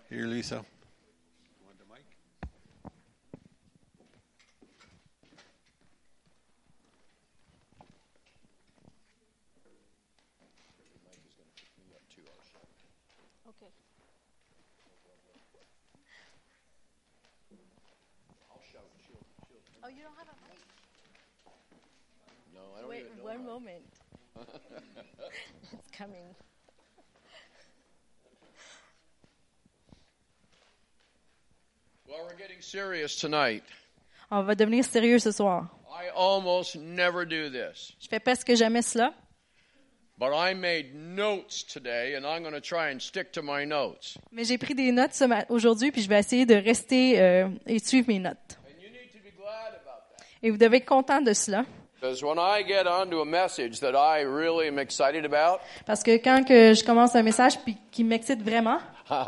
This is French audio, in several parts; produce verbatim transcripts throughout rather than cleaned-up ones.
Here, Lisa. Want the mic? Okay. I'll shout. She'll, she'll. Oh, you don't have a mic? No, I don't Wait even know. one how. moment. It's coming. Well, we're getting serious tonight. On va devenir sérieux ce soir. I almost never do this. Je fais presque jamais cela, But I made notes today, and I'm going to try and stick to my notes. mais j'ai pris des notes ce ma- aujourd'hui, puis je vais essayer de rester euh, et de suivre mes notes. And you need to be glad about that. Et vous devez être content de cela, Because when I get onto a message that I really am excited about, parce que quand que je commence un message puis qui m'excite vraiment,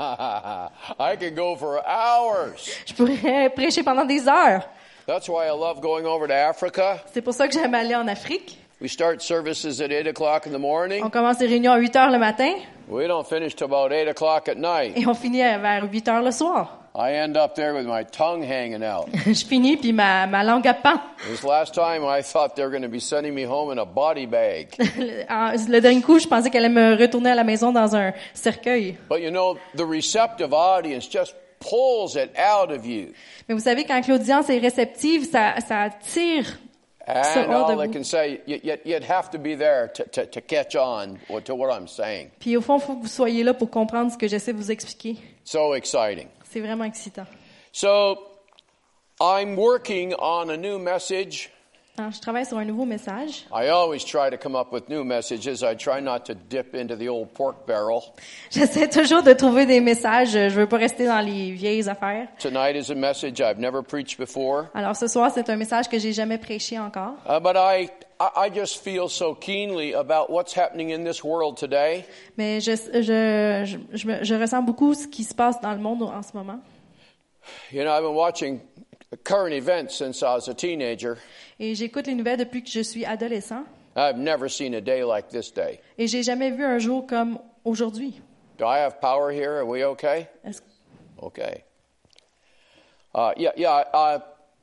I can go for hours. je pourrais prêcher pendant des heures. That's why I love going over to Africa. C'est pour ça que j'aime aller en Afrique. We start services at eight o'clock in the morning. On commence les réunions à huit heures le matin We don't finish till about eight o'clock at night. et on finit à- vers huit heures le soir. I end up there with my tongue hanging out. Je finis puis ma, ma langue à pend. This last time I thought they were going to be sending me home in a body bag. Le en- le dernier coup, je pensais qu'elle allait me retourner à la maison dans un cercueil. But you know, the receptive audience just pulls it out of you. Mais vous savez, quand l'audience est réceptive, ça, ça tire. Ça And hors de all I vous. can say, you- you- you'd have to be there to, to, to catch on to what I'm saying. Puis au fond, il faut que vous soyez là pour comprendre ce que j'essaie de vous expliquer. So exciting. C'est vraiment excitant. So I'm working on a new message. Alors, je travaille sur un nouveau message. I always try to come up with new messages. I try not to dip into the old pork barrel. J'essaie toujours de trouver des messages. Je veux pas rester dans les vieilles affaires. Tonight is a message I've never preached before. Alors ce soir, c'est un message que j'ai jamais prêché encore. Uh, but I, I I just feel so keenly about what's happening in this world today. Mais je, je, je, je, me- je ressens beaucoup ce qui se passe dans le monde en ce moment. You know, I've been watching current events since I was a teenager. Et j'écoute les nouvelles depuis que je suis adolescent. I've never seen a day like this day. Et j'ai jamais vu un jour comme aujourd'hui. Do I have power here? Are we okay? Est-ce- Okay. Uh, yeah, yeah. Uh,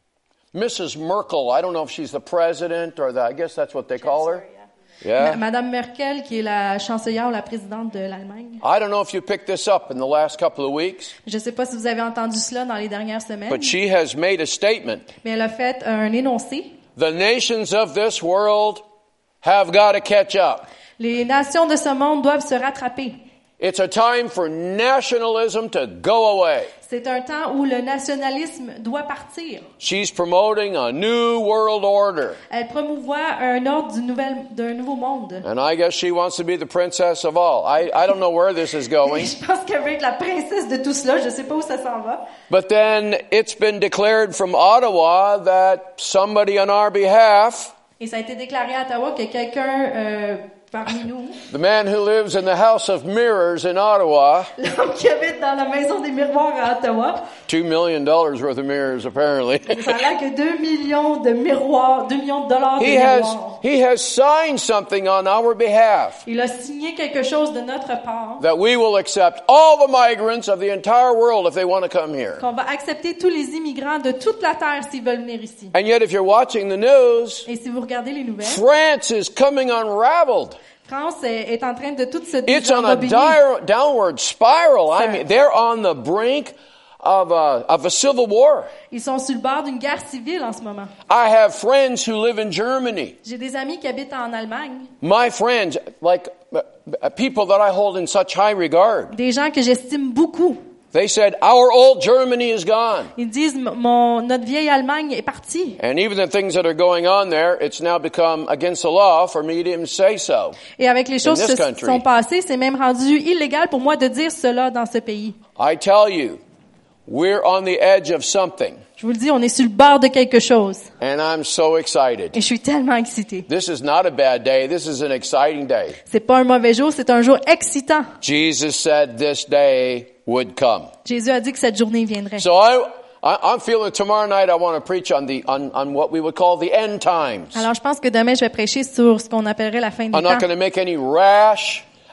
Missus Merkel, I don't know if she's the president or the, I guess that's what they call her. Ma- Yeah. Madame Merkel, qui est la chancelière ou la présidente de l'Allemagne. I don't know if you picked this up in the last couple of weeks, Je ne sais pas si vous avez entendu cela dans les dernières semaines, but she has made a statement. mais elle a fait un énoncé. The nations of this world have got to catch up. Les nations de ce monde doivent se rattraper. It's a time for nationalism to go away. C'est un temps où le nationalisme doit partir. She's promoting a new world order. Elle promouvoit un ordre du nouvel, d'un nouveau monde. And I guess she wants to be the princess of all. I, I don't know where this is going. Je pense qu'elle veut être la princesse de tout cela. Je ne sais pas où ça s'en va. But then it's been declared from Ottawa that somebody on our behalf, Et ça a été déclaré à Ottawa que quelqu'un euh, parmi nous, the man who lives in the House of Mirrors in Ottawa, l'homme qui habite dans la maison des miroirs à Ottawa, two million dollars worth of mirrors apparently. ça a l'air que deux millions de miroirs, deux millions de dollars de He has, miroirs. he has signed something on our behalf Il a signé quelque chose de notre part, that we will accept all the migrants of the entire world if they want to come here. qu'on va accepter tous les immigrants de toute la terre s'ils veulent venir ici. And yet if you're watching the news, Et si vous regardez les nouvelles, France is coming unraveled. France est, est en train de tout se It's on a désembobiner. dire, downward spiral. I Sir. mean, they're on the brink of a, of a civil war. Ils sont sur le bord d'une guerre civile en ce moment. I have friends who live in Germany. J'ai des amis qui habitent en Allemagne, My friends, like uh, uh, people that I hold in such high regard. des gens que j'estime beaucoup. They said, our old Germany is gone. Ils disent, mon, notre vieille Allemagne est partie. And even the things that are going on there, it's now become against the law for me to even say so. Et avec les choses In qui this se country. sont passées, c'est même rendu illégal pour moi de dire cela dans ce pays. I tell you, we're on the edge of something. Je vous le dis, on est sur le bord de quelque chose. And I'm so excited. Et je suis tellement excitée. This is not a bad day. This is an exciting day. C'est pas un mauvais jour, c'est un jour excitant. Jesus said this day would come. Jésus a dit que cette journée viendrait. So I, I, I'm feeling tomorrow night I want to preach on the on, on what we would call the end times. Alors, je pense que demain, je vais prêcher sur ce qu'on appellerait la fin des I'm not temps. going to make any rash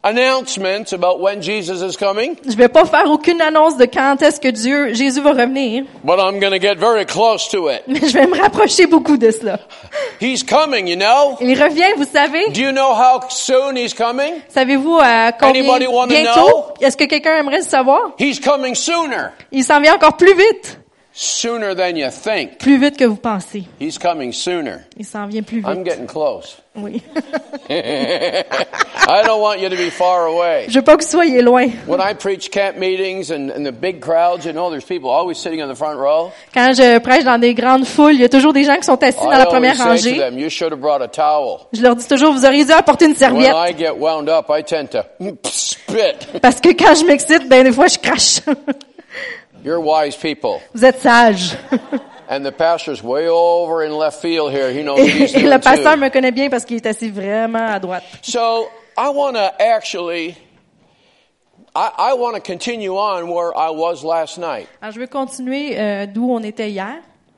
announcements about when Jesus is coming, Je vais pas faire aucune annonce de quand est-ce que Dieu, Jésus va revenir. but I'm going to get very close to it. Mais je vais me rapprocher beaucoup de cela. He's coming, you know. Il revient, vous savez. Do you know how soon he's coming? Savez-vous à combien Anybody wanna bientôt? know? Est-ce que quelqu'un aimerait le savoir? He's coming sooner. Il s'en vient encore plus vite. Sooner than you think. Plus vite que vous pensez. He's coming sooner. Il s'en vient plus I'm vite. getting close. Oui. I don't want you to be far away. Je veux pas que vous soyez loin. When I preach camp meetings and, and the big crowds, you know, there's people always sitting in the front row. Quand je prêche dans des grandes foules, il y a toujours des gens qui sont assis dans I la always première say to rangée. them, you should have brought a towel. Je leur dis toujours, vous auriez dû apporter une When serviette. I get wound up, I tend to spit. Parce que quand je m'excite, ben des fois je crache. You're wise people. Vous êtes sages. And the pastor's way over in left field here. He knows Et, what he's et doing le pasteur too. me connaît bien parce qu'il est assis vraiment à droite. So I want to actually, I, I want to continue on where I was last night. Alors je veux continuer euh, d'où on était hier.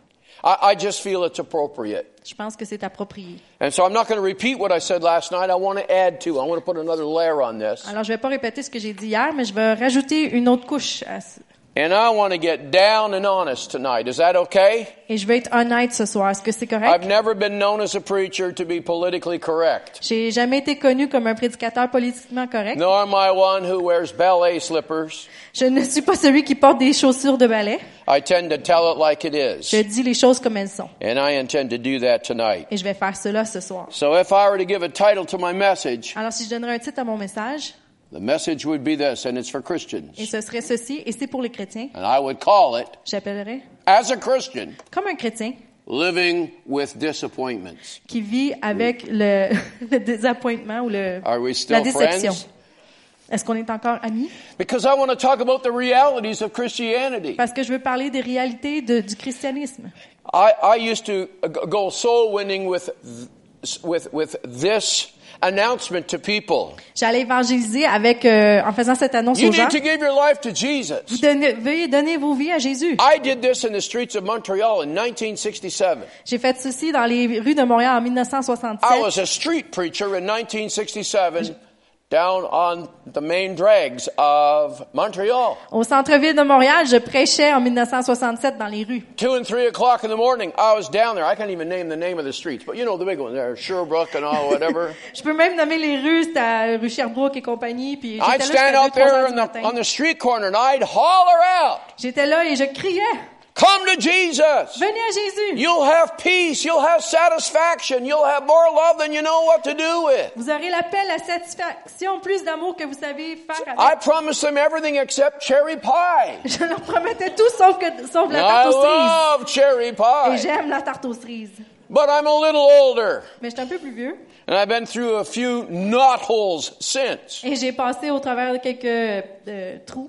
I, I just feel it's appropriate. Je pense que c'est approprié. And so I'm not going to repeat what I said last night. I want to add to. I want to put another layer on this. Alors je vais pas répéter ce que j'ai dit hier, mais je vais rajouter une autre couche. À ce- And I want to get down and honest tonight. Is that okay? Et je vais être honnête ce soir. Est-ce que c'est correct? I've never been known as a preacher to be politically correct. J'ai jamais été connu comme un prédicateur politiquement correct. Nor am I one who wears ballet slippers. Je ne suis pas celui qui porte des chaussures de ballet. I tend to tell it like it is. Je dis les choses comme elles sont. And I intend to do that tonight. Et je vais faire cela ce soir. So if I were to give a title to my message, Alors si je donnerais un titre à mon message, the message would be this, and it's for Christians. et ce serait ceci, et c'est pour les chrétiens, And I would call it, j'appellerais as a Christian, comme un chrétien living with disappointments. qui vit avec le, le désappointement ou le, Are we la still déception. friends? Est-ce qu'on est encore amis? Because I want to talk about the realities of Christianity. Parce que je veux parler des réalités de, du christianisme. I, I used to go soul winning with, with, with this announcement to people. J'allais évangéliser avec, euh, en faisant cette annonce You aux gens. need to give your life to Vous Jesus. donnez, veuillez donner vos vies à Jésus. I did this in the streets of Montreal in nineteen sixty-seven. J'ai fait ceci dans les rues de Montréal en I dix-neuf soixante-sept. was a street preacher in nineteen sixty-seven down on the main drags of Montreal. Au centre-ville de Montréal, je prêchais en dix-neuf soixante-sept dans les rues. Two and three o'clock in the morning, I was down there. I can't even name the name of the streets, but you know the big ones there, Sherbrooke and all, whatever. Je peux même nommer les rues, c'était à rue Sherbrooke et compagnie, puis I'd j'étais stand là out jusqu'à deux, trois there heures on du the, matin. on the street corner and I'd holler out, J'étais là et je criais, come to Jesus. venez à Jésus. You'll have peace. You'll have satisfaction. You'll have more love than you know what to do with. Vous aurez la paix, la satisfaction, plus d'amour que vous savez faire avec. I promised them everything except cherry pie. Je leur promettais tout sauf que, sauf la I tarte aux cerises. love cherry Et pie. j'aime la tarte aux cerises. But I'm a little older. Mais je suis un peu plus vieux. And I've been through a few knot holes since. Et j'ai passé au travers de quelques euh, trous.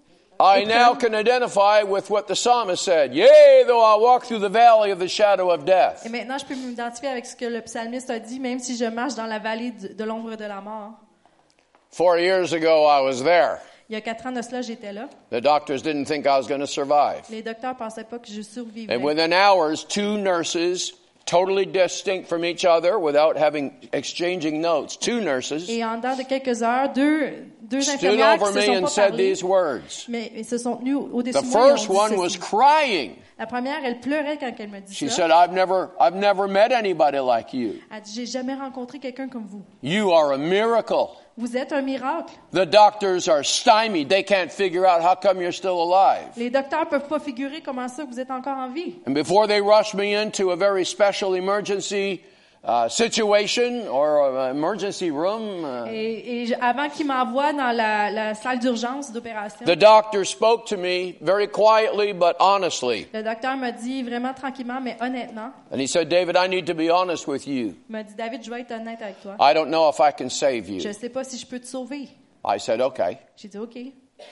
I now can identify with what the psalmist said. Yea, though I walk through the valley of the shadow of death. Et maintenant, je peux m'identifier avec ce que le psalmiste a dit, même si je marche dans la vallée de, de l'ombre de la mort. Four years ago, I was there. Il y a quatre ans de cela, j'étais là. The doctors didn't think I was going to survive. Les docteurs pensaient pas que je survivrais. And within hours, two nurses, totally distinct from each other without having exchanging notes, two nurses Et en dedans de quelques heures, deux, deux stood infirmières qui over se me sont and pas said parlé, these words. mais ils se sont tenues au-dessus The de moi et ont first dit one ceci. was crying. La première, elle pleurait quand elle me dit She ça. said, I've never, I've never met anybody like you. Elle dit, j'ai jamais rencontré quelqu'un comme vous. You are a miracle. Vous êtes un miracle. The doctors are stymied. They can't figure out how come you're still alive. Les docteurs peuvent pas figurer comment ça vous êtes encore en vie. And before they rushed me into a very special emergency uh, situation or an emergency room, uh, Et, et je- avant qu'ils m'envoient dans la, la salle d'urgence d'opération, the doctor spoke to me very quietly but honestly. le docteur m'a dit vraiment tranquillement, mais honnêtement, And he said, David, I need to be honest with you. il m'a dit, David, je vais être honnête avec toi. I don't know if I can save Je you. ne sais pas si je peux te sauver. I said, okay. J'ai dit, OK.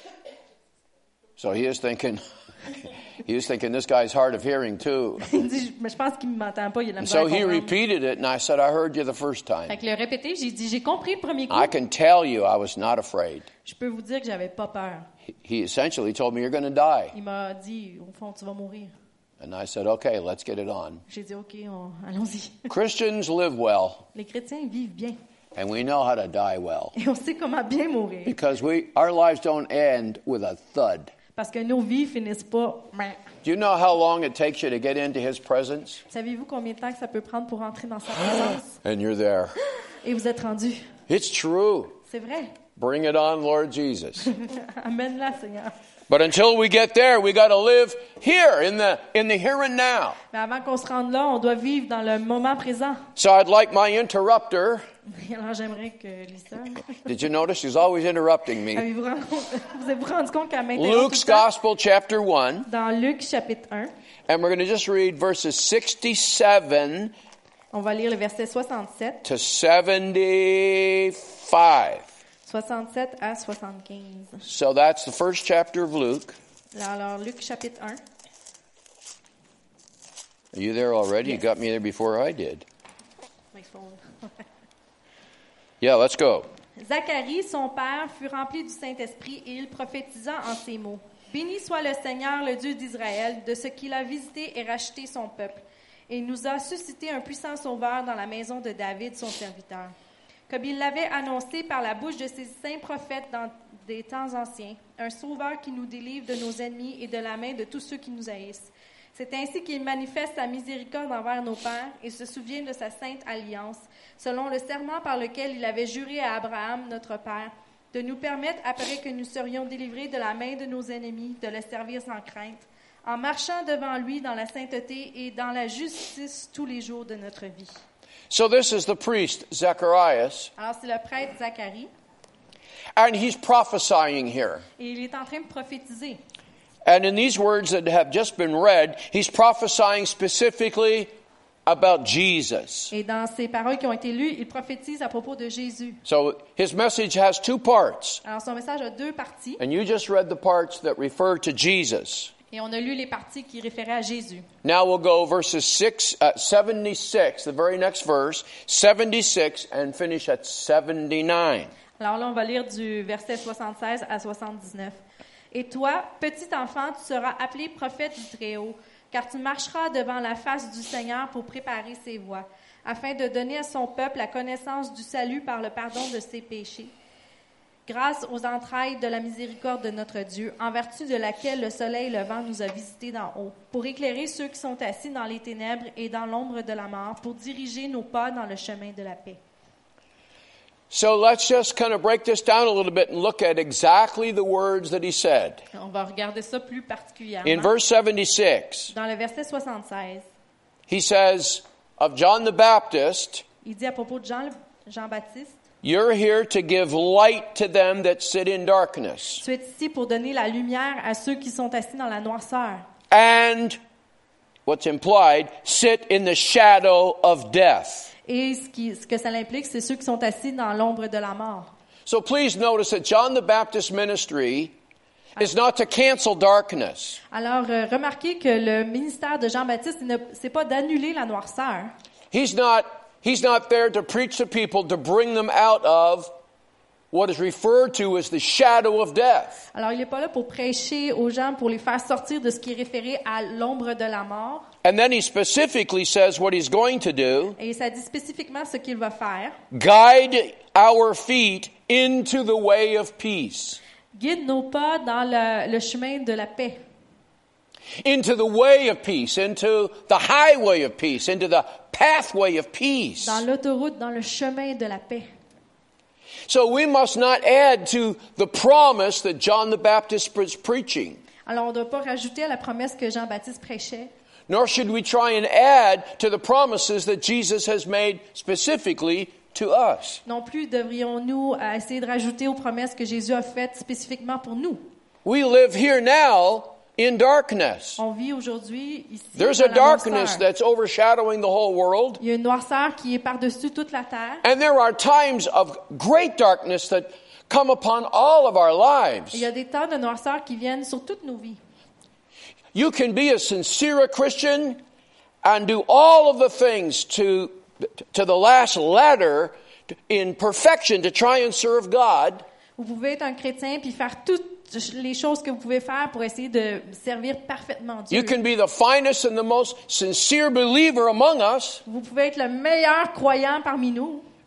So he is thinking, he is thinking this guy's hard of hearing too. Il dit, mais je pense qu'il ne m'entend pas, il a de la And misère à so he comprendre. repeated it and I said, I heard you the first Fait time. que le répété, j'ai dit, j'ai compris le premier coup. I can tell you I was not afraid. Je peux vous dire que j'avais pas peur. He- He essentially told me you're going to die. Il m'a dit, au fond, tu vas mourir. And I said, okay, let's get it on. J'ai dit, OK, on- allons-y. Christians live well. Les chrétiens vivent bien. And we know how to die well. Et on sait comment bien mourir. Because we, our lives don't end with a thud. Parce que nos vies finissent pas. Do you know how long it takes you to get into His presence? Savez-vous combien de temps que ça peut prendre pour entrer dans sa présence? And you're there. Et vous êtes rendu. It's true. C'est vrai. Bring it on, Lord Jesus. Amène-la, Seigneur. But until we get there, we got to live here in the in the here and now. Mais avant qu'on se rende là, on doit vivre dans le moment présent. So I'd like my interrupter. Alors j'aimerais que Lisa. Did you notice she's always interrupting me? Avez-vous rendu compte, vous avez rendu compte qu'elle m'interrompt tout Luke's le temps? Gospel, chapter one, Dans Luc chapitre un, and we're going to just read verses sixty-seven on va lire le verset soixante-sept, to seventy-five. soixante-sept à soixante-quinze. So that's the first chapter of Luke. Alors Luc chapitre un. Are you there already? Yes. You got me there before I did. My phone. Yeah, let's go. Zacharie, son père, fut rempli du Saint-Esprit et il prophétisa en ces mots. Béni soit le Seigneur, le Dieu d'Israël, de ce qu'il a visité et racheté son peuple. Et il nous a suscité un puissant sauveur dans la maison de David, son serviteur. Comme il l'avait annoncé par la bouche de ses saints prophètes dans des temps anciens, un sauveur qui nous délivre de nos ennemis et de la main de tous ceux qui nous haïssent. C'est ainsi qu'il manifeste sa miséricorde envers nos pères et se souvient de sa sainte alliance, selon le serment par lequel il avait juré à Abraham, notre père, de nous permettre, après que nous serions délivrés de la main de nos ennemis, de le servir sans crainte, en marchant devant lui dans la sainteté et dans la justice tous les jours de notre vie. So this is the priest, Zacharias, Alors c'est le prêtre Zacharie, and he's prophesying here. et il est en train de prophétiser. And in these words that have just been read, he's prophesying specifically about Jesus. Et dans ces paroles qui ont été lues, il prophétise à propos de Jésus. So his message has two parts. Alors son message a deux parties, And you just read the parts that refer to Jesus. et on a lu les parties qui référaient à Jésus. Now we'll go verses six, uh, seventy-six, the very next verse, seventy-six, and finish at seventy-nine. Alors là, on va lire du verset soixante-seize à soixante-dix-neuf. « Et toi, petit enfant, tu seras appelé prophète du Très-Haut, car tu marcheras devant la face du Seigneur pour préparer ses voies, afin de donner à son peuple la connaissance du salut par le pardon de ses péchés, grâce aux entrailles de la miséricorde de notre Dieu, en vertu de laquelle le soleil levant nous a visités d'en haut, pour éclairer ceux qui sont assis dans les ténèbres et dans l'ombre de la mort, pour diriger nos pas dans le chemin de la paix. » So let's just kind of break this down a little bit and look at exactly the words that he said. On va regarder ça plus particulièrement. In verse seventy-six, Dans le verset soixante-seize, he says of John the Baptist, il dit à propos de Jean, Jean-Baptiste, "You're here to give light to them that sit in darkness." tu es ici pour donner la lumière à ceux qui sont assis dans la noirceur. And what's implied, sit in the shadow of death. Et ce, qui, ce que ça implique, c'est ceux qui sont assis dans l'ombre de la mort. So please notice that John the Baptist's ministry is not to cancel darkness. Alors, euh, remarquez que le ministère de Jean-Baptiste, ce n'est pas d'annuler la noirceur. He's not, he's not there to preach to people to bring them out of what is referred to as the shadow of death. Alors, il n'est pas là pour prêcher aux gens, pour les faire sortir de ce qui est référé à l'ombre de la mort. And then he specifically says what he's going to do, Et ça dit spécifiquement ce qu'il va faire. guide our feet into the way of peace. Guide nos pas dans le, le chemin de la paix. Into the way of peace, into the highway of peace, into the pathway of peace. Dans l'autoroute, dans le chemin de la paix. So we must not add to the promise that John the Baptist was preaching. Alors, on ne doit pas rajouter à la promesse que Jean-Baptiste prêchait. Nor should we try and add to the promises that Jesus has made specifically to us. Non plus devrions-nous euh, essayer de rajouter aux promesses que Jésus a faites spécifiquement pour nous. We live here now in darkness. On vit aujourd'hui ici There's dans a la darkness noirceur. that's overshadowing the whole world. Il y a une noirceur qui est par-dessus toute la terre. And there are times of great darkness that come upon all of our lives. Il y a des temps de noirceur qui viennent sur toutes nos vies. You can be a sincere Christian and do all of the things to, to the last letter in perfection to try and serve God. Vous pouvez être un chrétien puis faire toutes les choses que vous pouvez faire pour essayer de servir parfaitement Dieu. You can be the finest and the most sincere believer among us Vous pouvez être le meilleur croyant parmi nous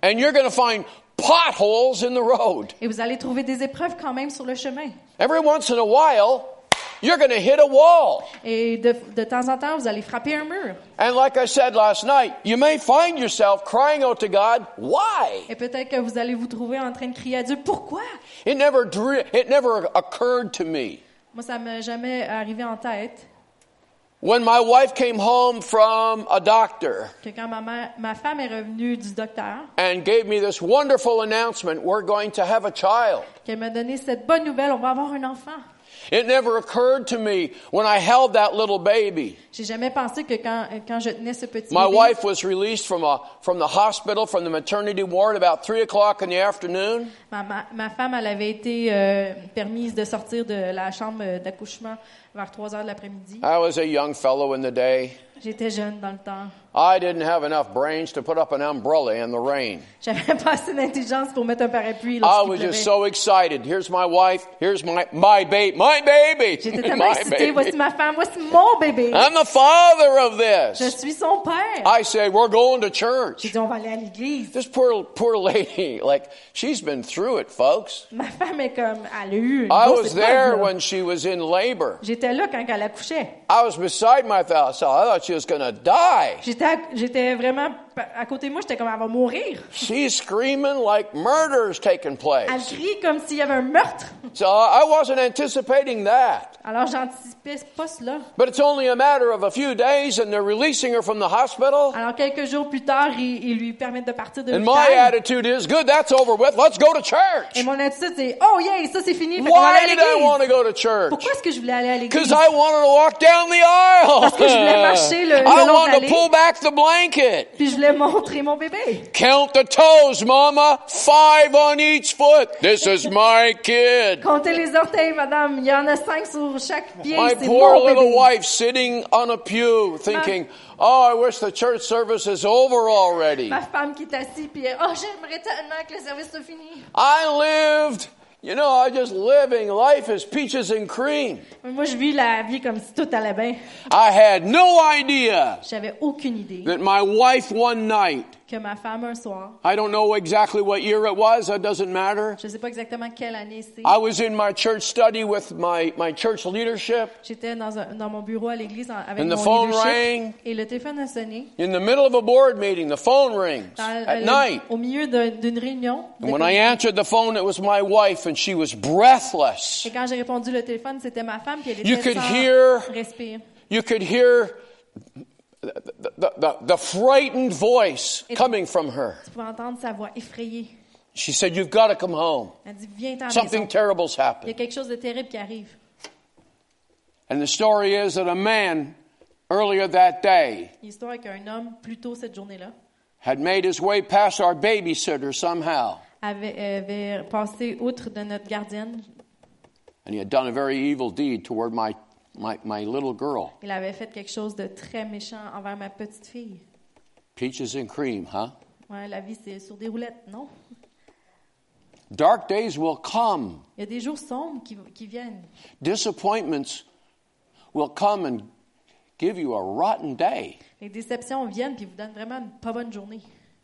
And you're going to find potholes in the road. Et vous allez trouver des épreuves quand même sur le chemin. Every once in a while, you're going to hit a wall. Et de, de temps en temps, vous allez frapper un mur. And like I said last night, you may find yourself crying out to God, why? Et peut-être que vous allez vous trouver en train de crier à Dieu, pourquoi? It never dre- it never occurred to me. Moi, ça m'est jamais arrivé en tête When my wife came home from a doctor que quand ma, mère, ma femme est revenue du docteur, and gave me this wonderful announcement, we're going to have a child. qu'elle m'a donné cette bonne nouvelle, on va avoir un enfant. It never occurred to me when I held that little baby. J'ai jamais pensé que quand, quand je tenais ce petit My bébé, wife was released from a from the hospital, from the maternity ward about three o'clock in the afternoon. ma, ma, ma femme, elle avait été euh, permise de sortir de la chambre d'accouchement vers trois heures de l'après-midi. I was a young fellow in the day. J'étais jeune dans le temps. I didn't have enough brains to put up an umbrella in the rain. J'avais pas assez d'intelligence pour mettre un parapluie I lorsqu'il was pleuvait. just so excited. Here's my wife. Here's my my baby. My baby. J'étais tellement My excitée. baby. Voici ma femme, voici mon bébé. I'm the father of Je this. suis son père. I said, we're going to J'ai church. dit, on va aller à l'église. This poor poor lady, like she's been through it, folks. Ma femme est comme, elle a eu une I grosse was épreuve, there là. when she was in labor. J'étais là quand elle accouchait. I was beside my spouse. I thought she was going to die. J'étais, à- j'étais vraiment à côté de moi, j'étais comme, elle va mourir. She's screaming like murder's taking Elle place. crie comme s'il y avait un meurtre. So I wasn't anticipating that. Alors, j'anticipais pas cela. But it's only a matter of a few days and they're releasing her from the hospital. Alors, quelques jours plus tard, ils, ils lui permettent de partir de And my l'hôpital. attitude is, good, that's over with. Let's go to Et church. mon attitude, c'est, oh yeah, ça c'est fini, fait qu'on va Why aller à did I want to l'église. go to church? Pourquoi est-ce que je voulais aller à Because l'église? I wanted to walk down the aisle. Parce que je voulais marcher le- le I long de wanted to l'allée. pull back the blanket. Puis je voulais montrer mon bébé. Count the toes, mama. Five on each foot. This is my kid. Comptez les orteils, madame. Il y en a cinq sur chaque pied. My C'est poor mon little bébé. wife sitting on a pew thinking, oh, I wish the church service is over already. Ma femme qui est assise, puis elle, oh, j'aimerais tellement que le service soit fini. I lived, you know, I just living. Life is peaches and cream. Mais moi, je vis la vie comme si tout allait bien. I had no idea J'avais aucune idée that my wife one night, que ma femme, un soir, I don't know exactly what year it was, that doesn't matter. je sais pas exactement quelle année c'est, I was in my church study with my, my church leadership. j'étais dans, un, dans mon bureau à l'église en- avec And the mon phone leadership, rang. et le téléphone a sonné. In the middle of a board meeting, the phone rings Dans- at euh, night. Au milieu de- d'une réunion. de And when I comité. answered the phone, it was my wife, and she was breathless. Et quand j'ai répondu le téléphone, c'était ma femme, puis elle You était could sans hear- respire. You could hear the, the, the, the frightened voice coming from her. Tu pouvais entendre sa voix effrayée. She said, you've got to come home. Elle dit, viens t'en Something maison. terrible's Il y a happened. quelque chose de terrible qui arrive. And the story is that a man earlier that day L'histoire est qu'un homme, plus tôt cette journée-là, had made his way past our babysitter somehow. avait, avait passé outre de notre gardienne. And he had done a very evil deed toward my, my, my little girl. Il avait fait quelque chose de très méchant envers ma petite fille. Peaches and cream, huh? Ouais, la vie, c'est sur des roulettes, non? Dark days will come. Il y a des jours sombres qui, qui viennent. Disappointments will come and give you a rotten day. Les déceptions viennent puis vous donnent vraiment une pas bonne journée.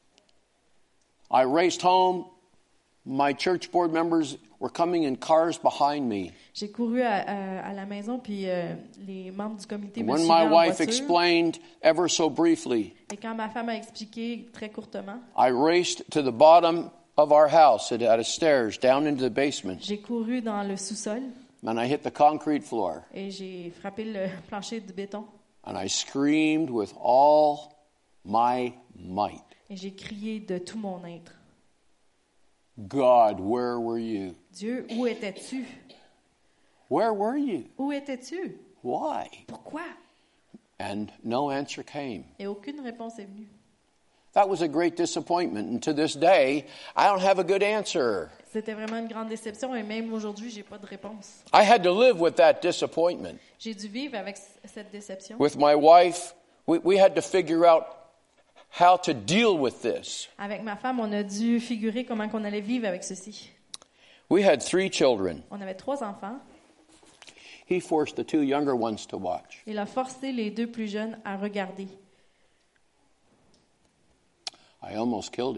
I raced home. My church board members were coming in cars behind me. J'ai couru à, à, à la maison puis euh, les membres du comité me When suivaient my en wife voiture. explained ever so briefly, Et quand ma femme a expliqué très courtement, I raced to the bottom of our house at, at a stairs down into the basement, j'ai couru dans le sous-sol and I hit the concrete floor, et j'ai frappé le plancher du béton and I screamed with all my might, et j'ai crié de tout mon être. God, where were you? Dieu, où étais-tu? Where were you? Où étais-tu? Why? Pourquoi? And no answer came. Et aucune réponse est venue. That was a great disappointment, and to this day, I don't have a good answer. C'était vraiment une grande déception et même aujourd'hui, j'ai pas de réponse. I had to live with that disappointment. J'ai dû vivre avec c- cette déception. With my wife, we, we had to figure out how to deal with this. Avec ma femme, on a dû figurer comment qu'on allait vivre avec ceci. We had three children. On avait trois enfants. He forced the two younger ones to watch. Il a forcé les deux plus jeunes à regarder. I almost killed him.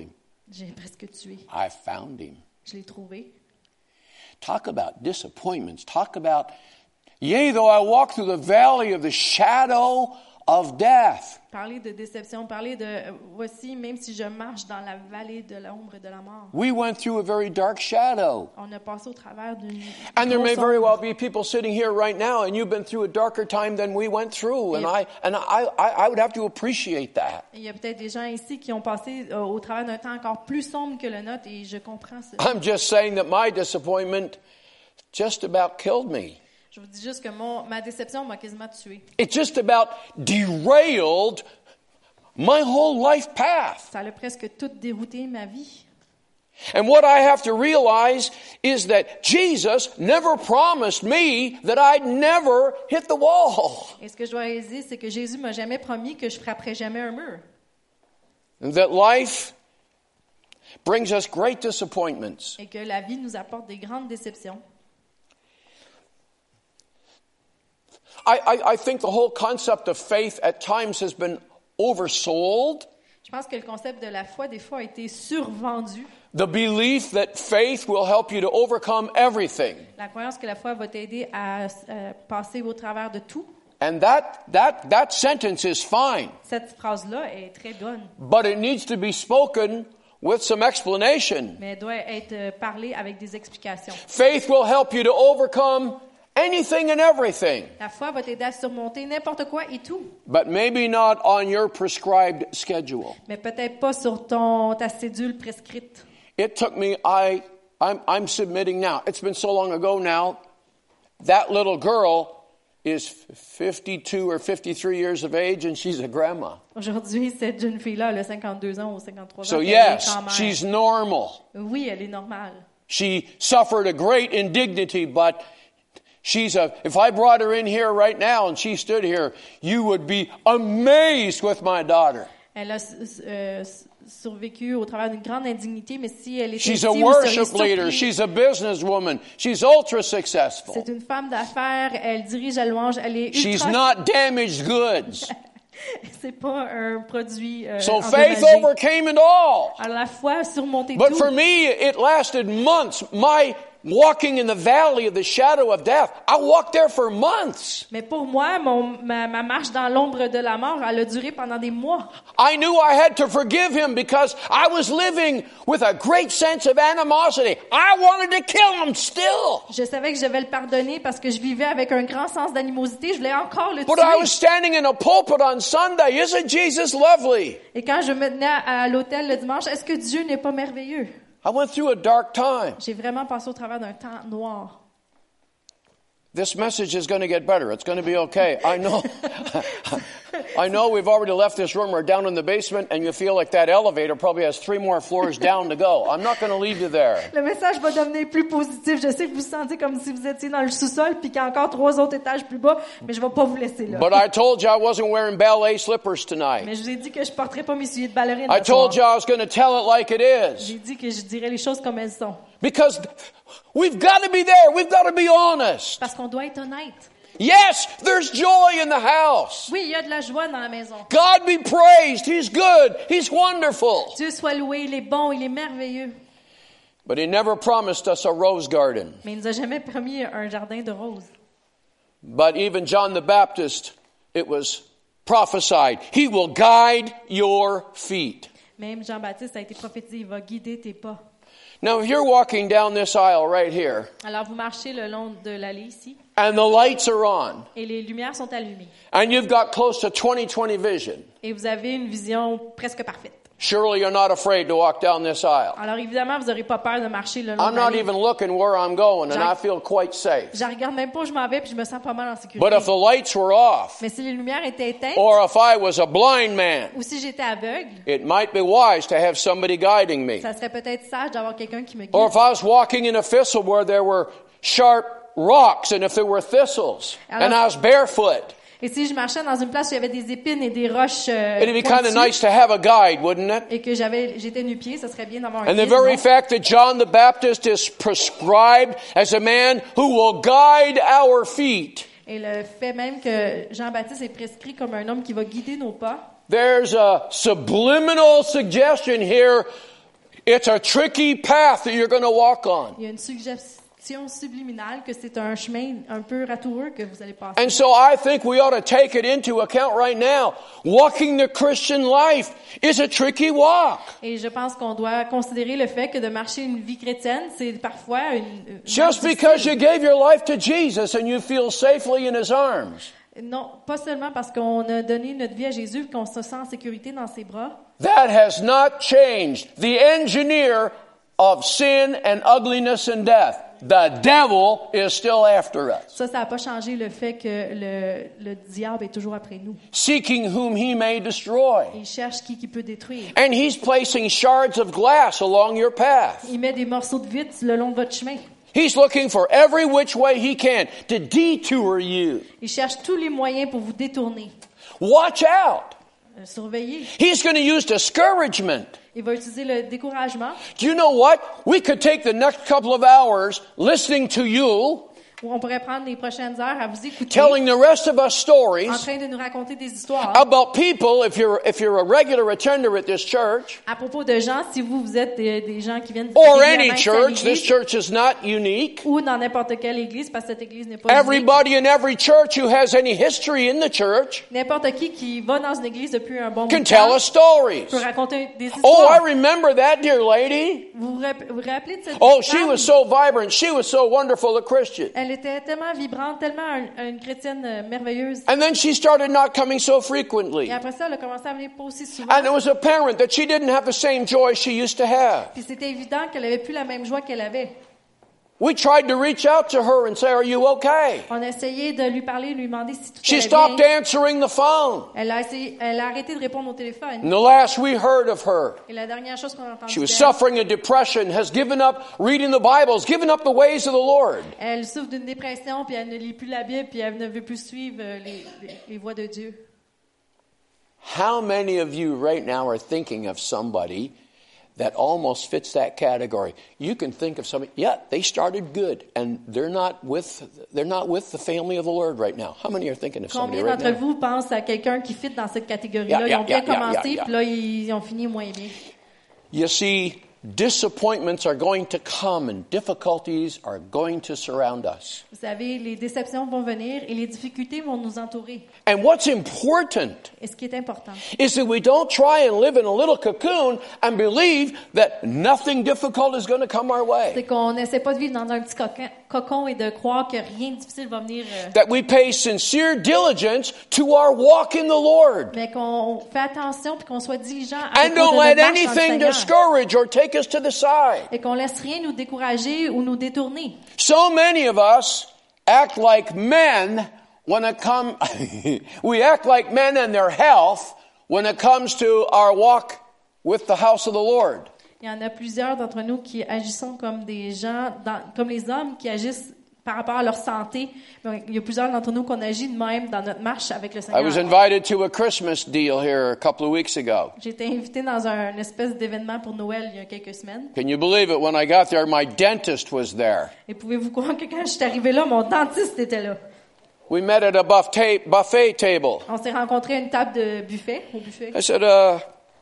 J'ai presque tué. I found him. Je l'ai trouvé. Talk about disappointments. Talk about, yea, though I walk through the valley of the shadow of death. Parler de déception, parler de, euh, voici, même si je marche dans la vallée de l'ombre de la mort. We went through a very dark shadow. On a passé au travers d'une And there may grosse very well ombre. be people sitting here right now, and you've been through a darker time than we went through, and Yeah. I and I, I, I would have to appreciate that. Il y a peut-être des gens ici qui ont passé euh, au travers d'un temps encore plus sombre que le nôtre, et je comprends ça. I'm just saying that my disappointment just about killed me. Je vous dis juste que mon, ma déception m'a quasiment tué. It just about derailed my whole life path. Ça a presque tout dérouté ma vie. And what I have to realize is that Jesus never promised me that I'd never hit the wall. Et ce que je dois réaliser, c'est que Jésus m'a jamais promis que je frapperais jamais un mur. And that life brings us great disappointments. Et que la vie nous apporte des grandes déceptions. I, I, I think the whole concept of faith at times has been oversold. Je pense que le concept de la foi, des fois, a été survendu. The belief that faith will help you to overcome everything. La croyance que la foi va t'aider à euh, passer au travers de tout. And that, that, that sentence is fine. Cette phrase-là est très bonne, But it needs to be spoken with some explanation. mais elle doit être euh, parlée avec des explications. Faith will help you to overcome anything and everything, La foi va t'aider à surmonter n'importe quoi et tout, but maybe not on your prescribed schedule. mais peut-être pas sur ton ta cédule prescrite. It took me, I, I'm, I'm submitting now. It's been so long ago now. That little girl is fifty-two or fifty-three years of age, and she's a grandma. Aujourd'hui, cette jeune fille-là, elle a cinquante-deux ans ou cinquante-trois ans. So puis yes, elle est grand-mère. she's normal. Oui, elle est normale. She suffered a great indignity, but she's a, if I brought her in here right now and she stood here, you would be amazed with my daughter. Elle a euh, survécu au travers d'une grande indignité, mais si elle était She's ici, a vous worship seriez leader. surpris. She's a businesswoman. She's ultra successful. C'est une femme d'affaires, elle dirige la louange, elle est She's ultra... not damaged goods. C'est pas un produit euh, So faith endommagé. overcame it all. Alors la foi a surmonté But tout. for me, it lasted months. My walking in the valley of the shadow of death, I walked there for months. Mais pour moi, mon, ma, ma marche dans l'ombre de la mort, elle a duré pendant des mois. I knew I had to forgive him because I was living with a great sense of animosity. I wanted to kill him still. Je savais que je devais le pardonner parce que je vivais avec un grand sens d'animosité. Je voulais encore le But I was tuer. standing in a pulpit on Sunday. Isn't Jesus lovely? Et quand je me tenais à, à l'hôtel le dimanche, est-ce que Dieu n'est pas merveilleux? I went through a dark time. J'ai vraiment passé au travers d'un temps noir. This message is going to get better. It's going to be okay. I know. I know we've already left this room. We're down in the basement, and you feel like that elevator probably has three more floors down to go. I'm not going to leave you there. Le message va devenir plus positif. Je sais que vous vous sentez comme si vous étiez dans le sous-sol puis qu'il y a encore trois autres étages plus bas, mais je vais pas vous laisser là. But I told you I wasn't wearing ballet slippers tonight. Mais je vous ai dit que je porterai pas mes souliers de ballerine. I ce soir. told you I was going to tell it like it is. J'ai dit que je dirais les choses comme elles sont. Because we've got to be there. We've got to be honest. Parce qu'on doit être honnête. Yes, there's joy in the house. Oui, il y a de la joie dans la maison. God be praised. He's good. He's wonderful. Dieu soit loué, il est bon, il est merveilleux. But he never promised us a rose garden. Mais il nous a jamais promis un jardin de roses. But even John the Baptist, it was prophesied, he will guide your feet. Même Jean-Baptiste a été prophétisé, il va guider tes pas. Now, if you're walking down this aisle right here, Alors vous marchez le long de l'allée ici, and the lights are on, et les lumières sont allumées. and you've got close to twenty twenty vision, Et vous avez une vision presque parfaite. surely you're not afraid to walk down this aisle. Alors évidemment, vous n'aurez pas peur de marcher le long I'm de not l'allée. even looking where I'm going, and I Jack- feel quite safe. Je regarde même pas où je m'en vais, puis je me sens pas mal en sécurité. But if the lights were off, Mais si les lumières étaient éteintes, or if I was a blind man, ou si j'étais aveugle, it might be wise to have somebody guiding me. ça serait peut-être sage d'avoir quelqu'un qui me guide. Or if I was walking in a thistle where there were sharp rocks, and if there were thistles, and I was barefoot, Et si je marchais dans une place où il y avait des épines et des roches euh, it'd be kind of pointues, nice to have a guide, wouldn't it? et que j'avais, j'étais nu-pied, ça serait bien d'avoir un And the guide. very non? fact that John the Baptist is prescribed as a man who will guide our feet, Et le fait même que Jean-Baptiste est prescrit comme un homme qui va guider nos pas, there's a subliminal suggestion here. It's a tricky path that you're going to walk on. Il y a une suggestion subliminale que c'est un chemin un peu ratoureux que vous allez passer. And so I think we ought to take it into account right now. Walking the Christian life is a tricky walk. Et je pense qu'on doit considérer le fait que de marcher une vie chrétienne, c'est parfois une... une Just because you gave your life to Jesus and you feel safely in His arms. Non, pas seulement parce qu'on a donné notre vie à Jésus et qu'on se sent en sécurité dans ses bras. That has not changed the engineer of sin and ugliness and death. The devil is still after us. Ça, ça n'a pas changé le fait que le, le diable est toujours après nous. Seeking whom he may destroy. Il cherche qui qui peut détruire. And he's placing shards of glass along your path. Il met des morceaux de vitre le long de votre chemin. He's looking for every which way he can to detour you. Il cherche tous les moyens pour vous détourner. Watch out. Euh, surveillez. He's going to use discouragement. Il va utiliser le découragement. Do you know what? We could take the next couple of hours listening to you, On pourrait prendre les prochaines heures à vous écouter, telling the rest of us en stories train de nous raconter des histoires about people, if you're, if you're a regular attender at this church, à propos de gens, si vous, vous êtes des, des gens qui viennent or régulièrement any ici à church, this l'église, church is not unique. ou dans n'importe quelle église, parce que cette église n'est pas unique. Everybody in every church who has any history in the church N'importe qui qui va dans une église depuis un bon bout can de tell temps us stories. peut raconter des Oh, I histoires. remember that dear lady. Vous vous rap- vous rappelez de cette Oh, she femme? was so vibrant. She was so wonderful a Christian. Elle était tellement vibrante, tellement un- une chrétienne euh, merveilleuse. And then she started not coming so frequently. Et après ça, elle a commencé à venir pas aussi souvent. And it was apparent that she didn't have the same joy she used to have. Puis c'était évident qu'elle avait plus la même joie qu'elle avait. We tried to reach out to her and say, "Are you okay?" On a essayé de lui parler, de lui demander si tout She allait stopped bien. answering the phone. Elle a essayé, elle a arrêté de répondre au téléphone. And the last we heard of her, Et la dernière chose qu'on a entendue she was d'elle, suffering a depression, has given up reading the Bible, has given up the ways of the Lord. elle souffre d'une dépression, puis elle ne lit plus la Bible, puis elle ne veut plus suivre euh, les, les, les voies de Dieu. How many of you right now are thinking of somebody that almost fits that category? You can think of somebody, yeah, they started good and they're not with they're not with the family of the Lord right now. How many are thinking of somebody Combien right d'entre now? vous pensent à quelqu'un qui fit dans cette catégorie-là? Yeah, Ils ont yeah, bien yeah, commencé, yeah, yeah. puis là, ils ont fini moins bien. You see, disappointments are going to come and difficulties are going to surround us. Vous savez, les déceptions vont venir et les difficultés vont nous entourer. And what's important Et ce qui est important, is that we don't try and live in a little cocoon and believe that nothing difficult is going to come our way. c'est qu'on n'essaie pas de vivre dans un petit cocon, cocon et de croire que rien de difficile va venir, euh, That we pay sincere diligence to our walk in the Lord. mais qu'on fait attention puis qu'on soit diligent à And propos don't de let notre marche dans le anything Seigneur. discourage or take us to the side. Et qu'on laisse rien nous décourager ou nous détourner. So many of us act like men when it comes, we act like men in their health when it comes to our walk with the house of the Lord. Il y en a plusieurs d'entre nous qui agissons comme des gens, dans, comme les hommes qui agissent par rapport à leur santé. Donc, il y a plusieurs d'entre nous qu'on agit de même dans notre marche avec le I was Seigneur. invited to a Christmas deal here a couple of weeks ago. J'ai été invitée dans un une espèce d'événement pour Noël il y a quelques semaines. Can you believe it? When I got there, my dentist was there. Et pouvez-vous croire que quand je suis arrivée là, mon dentiste était là. We met at a buffet, buffet table. On s'est rencontrés à une table de buffet, au buffet. I said, uh,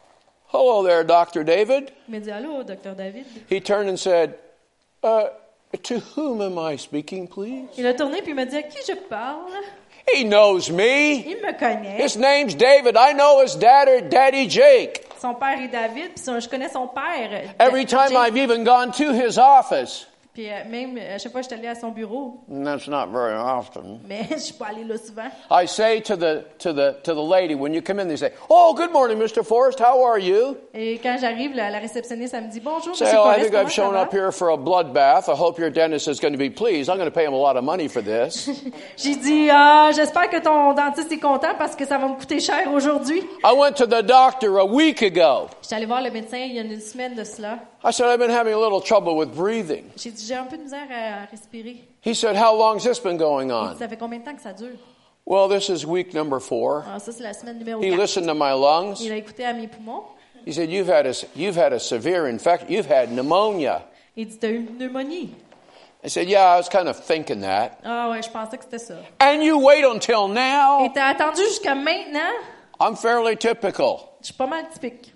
hello there, Doctor David. Il m'a dit, allô, docteur David. He turned and said, uh, to whom am I speaking, please? Il a tourné puis il m'a dit, à qui je parle? He knows me. Il me connaît. His name's David. I know his dad, Daddy Jake. Son père est David, puis son- je connais son père. Every Da- time Jake. I've even gone to his office, Puis euh, même, à chaque fois que je suis allée à son bureau, and that's not very often, mais je suis pas allée là souvent. I say to the to the to the lady when you come in, they say, "Oh, good morning, Mister Forrest. How are you?" Et quand j'arrive, la, la réceptionniste, elle me dit, bonjour, Say, monsieur "Oh, I Forrest, think comment I've ça shown va? up here for a bloodbath. I hope your dentist is going to be pleased. I'm going to pay him a lot of money for this." J'ai dit, ah, j'espère que ton dentiste est content parce que ça va me coûter cher aujourd'hui. I went to the doctor a week ago. J'étais allée voir le médecin il y a une semaine de cela. I said, "I've been having a little trouble with breathing." J'ai dit, j'ai un peu de misère à respirer. He said, "How long's this been going Il dit, on?" ça fait combien de temps que ça dure? Well, this is week number four. Ah, ça, c'est la semaine numéro He quatre. listened to my lungs. Il a écouté à mes poumons. He said, "You've had a you've had a severe infection. You've had pneumonia." Il dit, t'as eu une pneumonie. I said, "Yeah, I was kind of thinking that." Ah ouais, je pensais que c'était ça. And you wait until now? Et t'as attendu jusqu'à maintenant? I'm fairly typical. Je suis pas mal typique.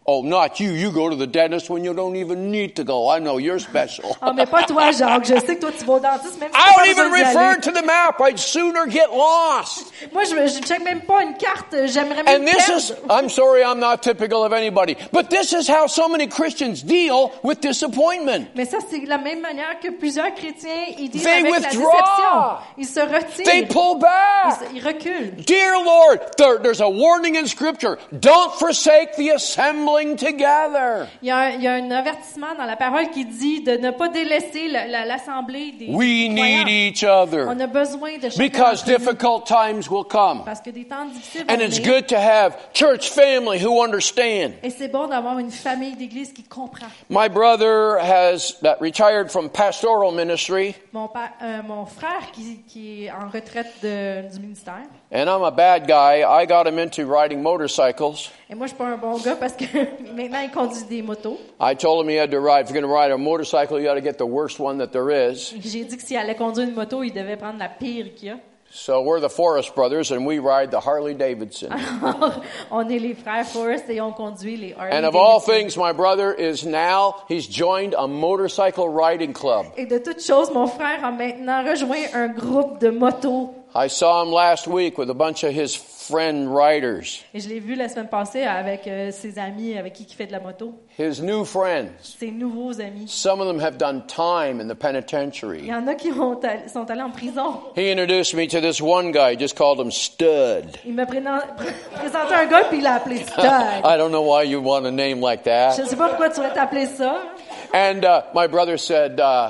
Oh, not you. You go to the dentist when you don't even need to go. I know you're special. Ah, mais pas toi, Jacques. Je sais que toi, tu vas au dentiste, même si I t'as pas don't even besoin d'y refer aller. to the map. I'd sooner get lost. Moi, je ne check même pas une carte. J'aimerais même And this perdre. is, I'm sorry, I'm not typical of anybody, but this is how so many Christians deal with disappointment. Mais ça, c'est la même manière que plusieurs chrétiens, ils disent They avec withdraw. la déception. Ils se retirent. They pull Ils, back. se- ils reculent. Dear Lord, there, there's a warning in Scripture. Don't forsake the assembling together. Il y, a un, il y a un avertissement dans la parole qui dit de ne pas délaisser la- la- l'assemblée des We croyants. need each On other a besoin de chacun because d'entre nous. difficult times will come. Parce que des temps difficiles vont And it's venir. good to have church family who understand. Et c'est bon d'avoir une famille d'église qui comprend. My brother has uh, retired from pastoral ministry, Mon, pa- euh, mon frère qui, qui est en retraite de- du ministère. and I'm a bad guy. I got him into riding motorcycles. Et moi, je suis pas un bon gars parce que maintenant, il conduit des motos. I told him he had to ride. If you're going to ride a motorcycle, you got to get the worst one that there is. Et j'ai dit que s'il allait conduire une moto, il devait prendre la pire qu'il y a. So we're the Forrest brothers, and we ride the Harley Davidson. Alors, on est les frères Forrest et on conduit les Harley And of all Davidson. things, my brother is now, he's joined a motorcycle riding club. Et de toutes choses, mon frère a maintenant rejoint un groupe de motos. I saw him last week with a bunch of his friend riders, Et je l'ai vu la semaine passée avec euh, ses amis avec qui il fait de la moto. his new friends. Ses nouveaux amis. Some of them have done time in the Il penitentiary. y en a qui ont all- sont allés en prison. He introduced me to this one guy, just called him Stud. Il m'a prénen- pr- présenté un gars puis il l'a appelé Stud. I don't know why you want a name like Je that. ne sais pas pourquoi tu vas t'appeler ça. And uh, my brother said, uh,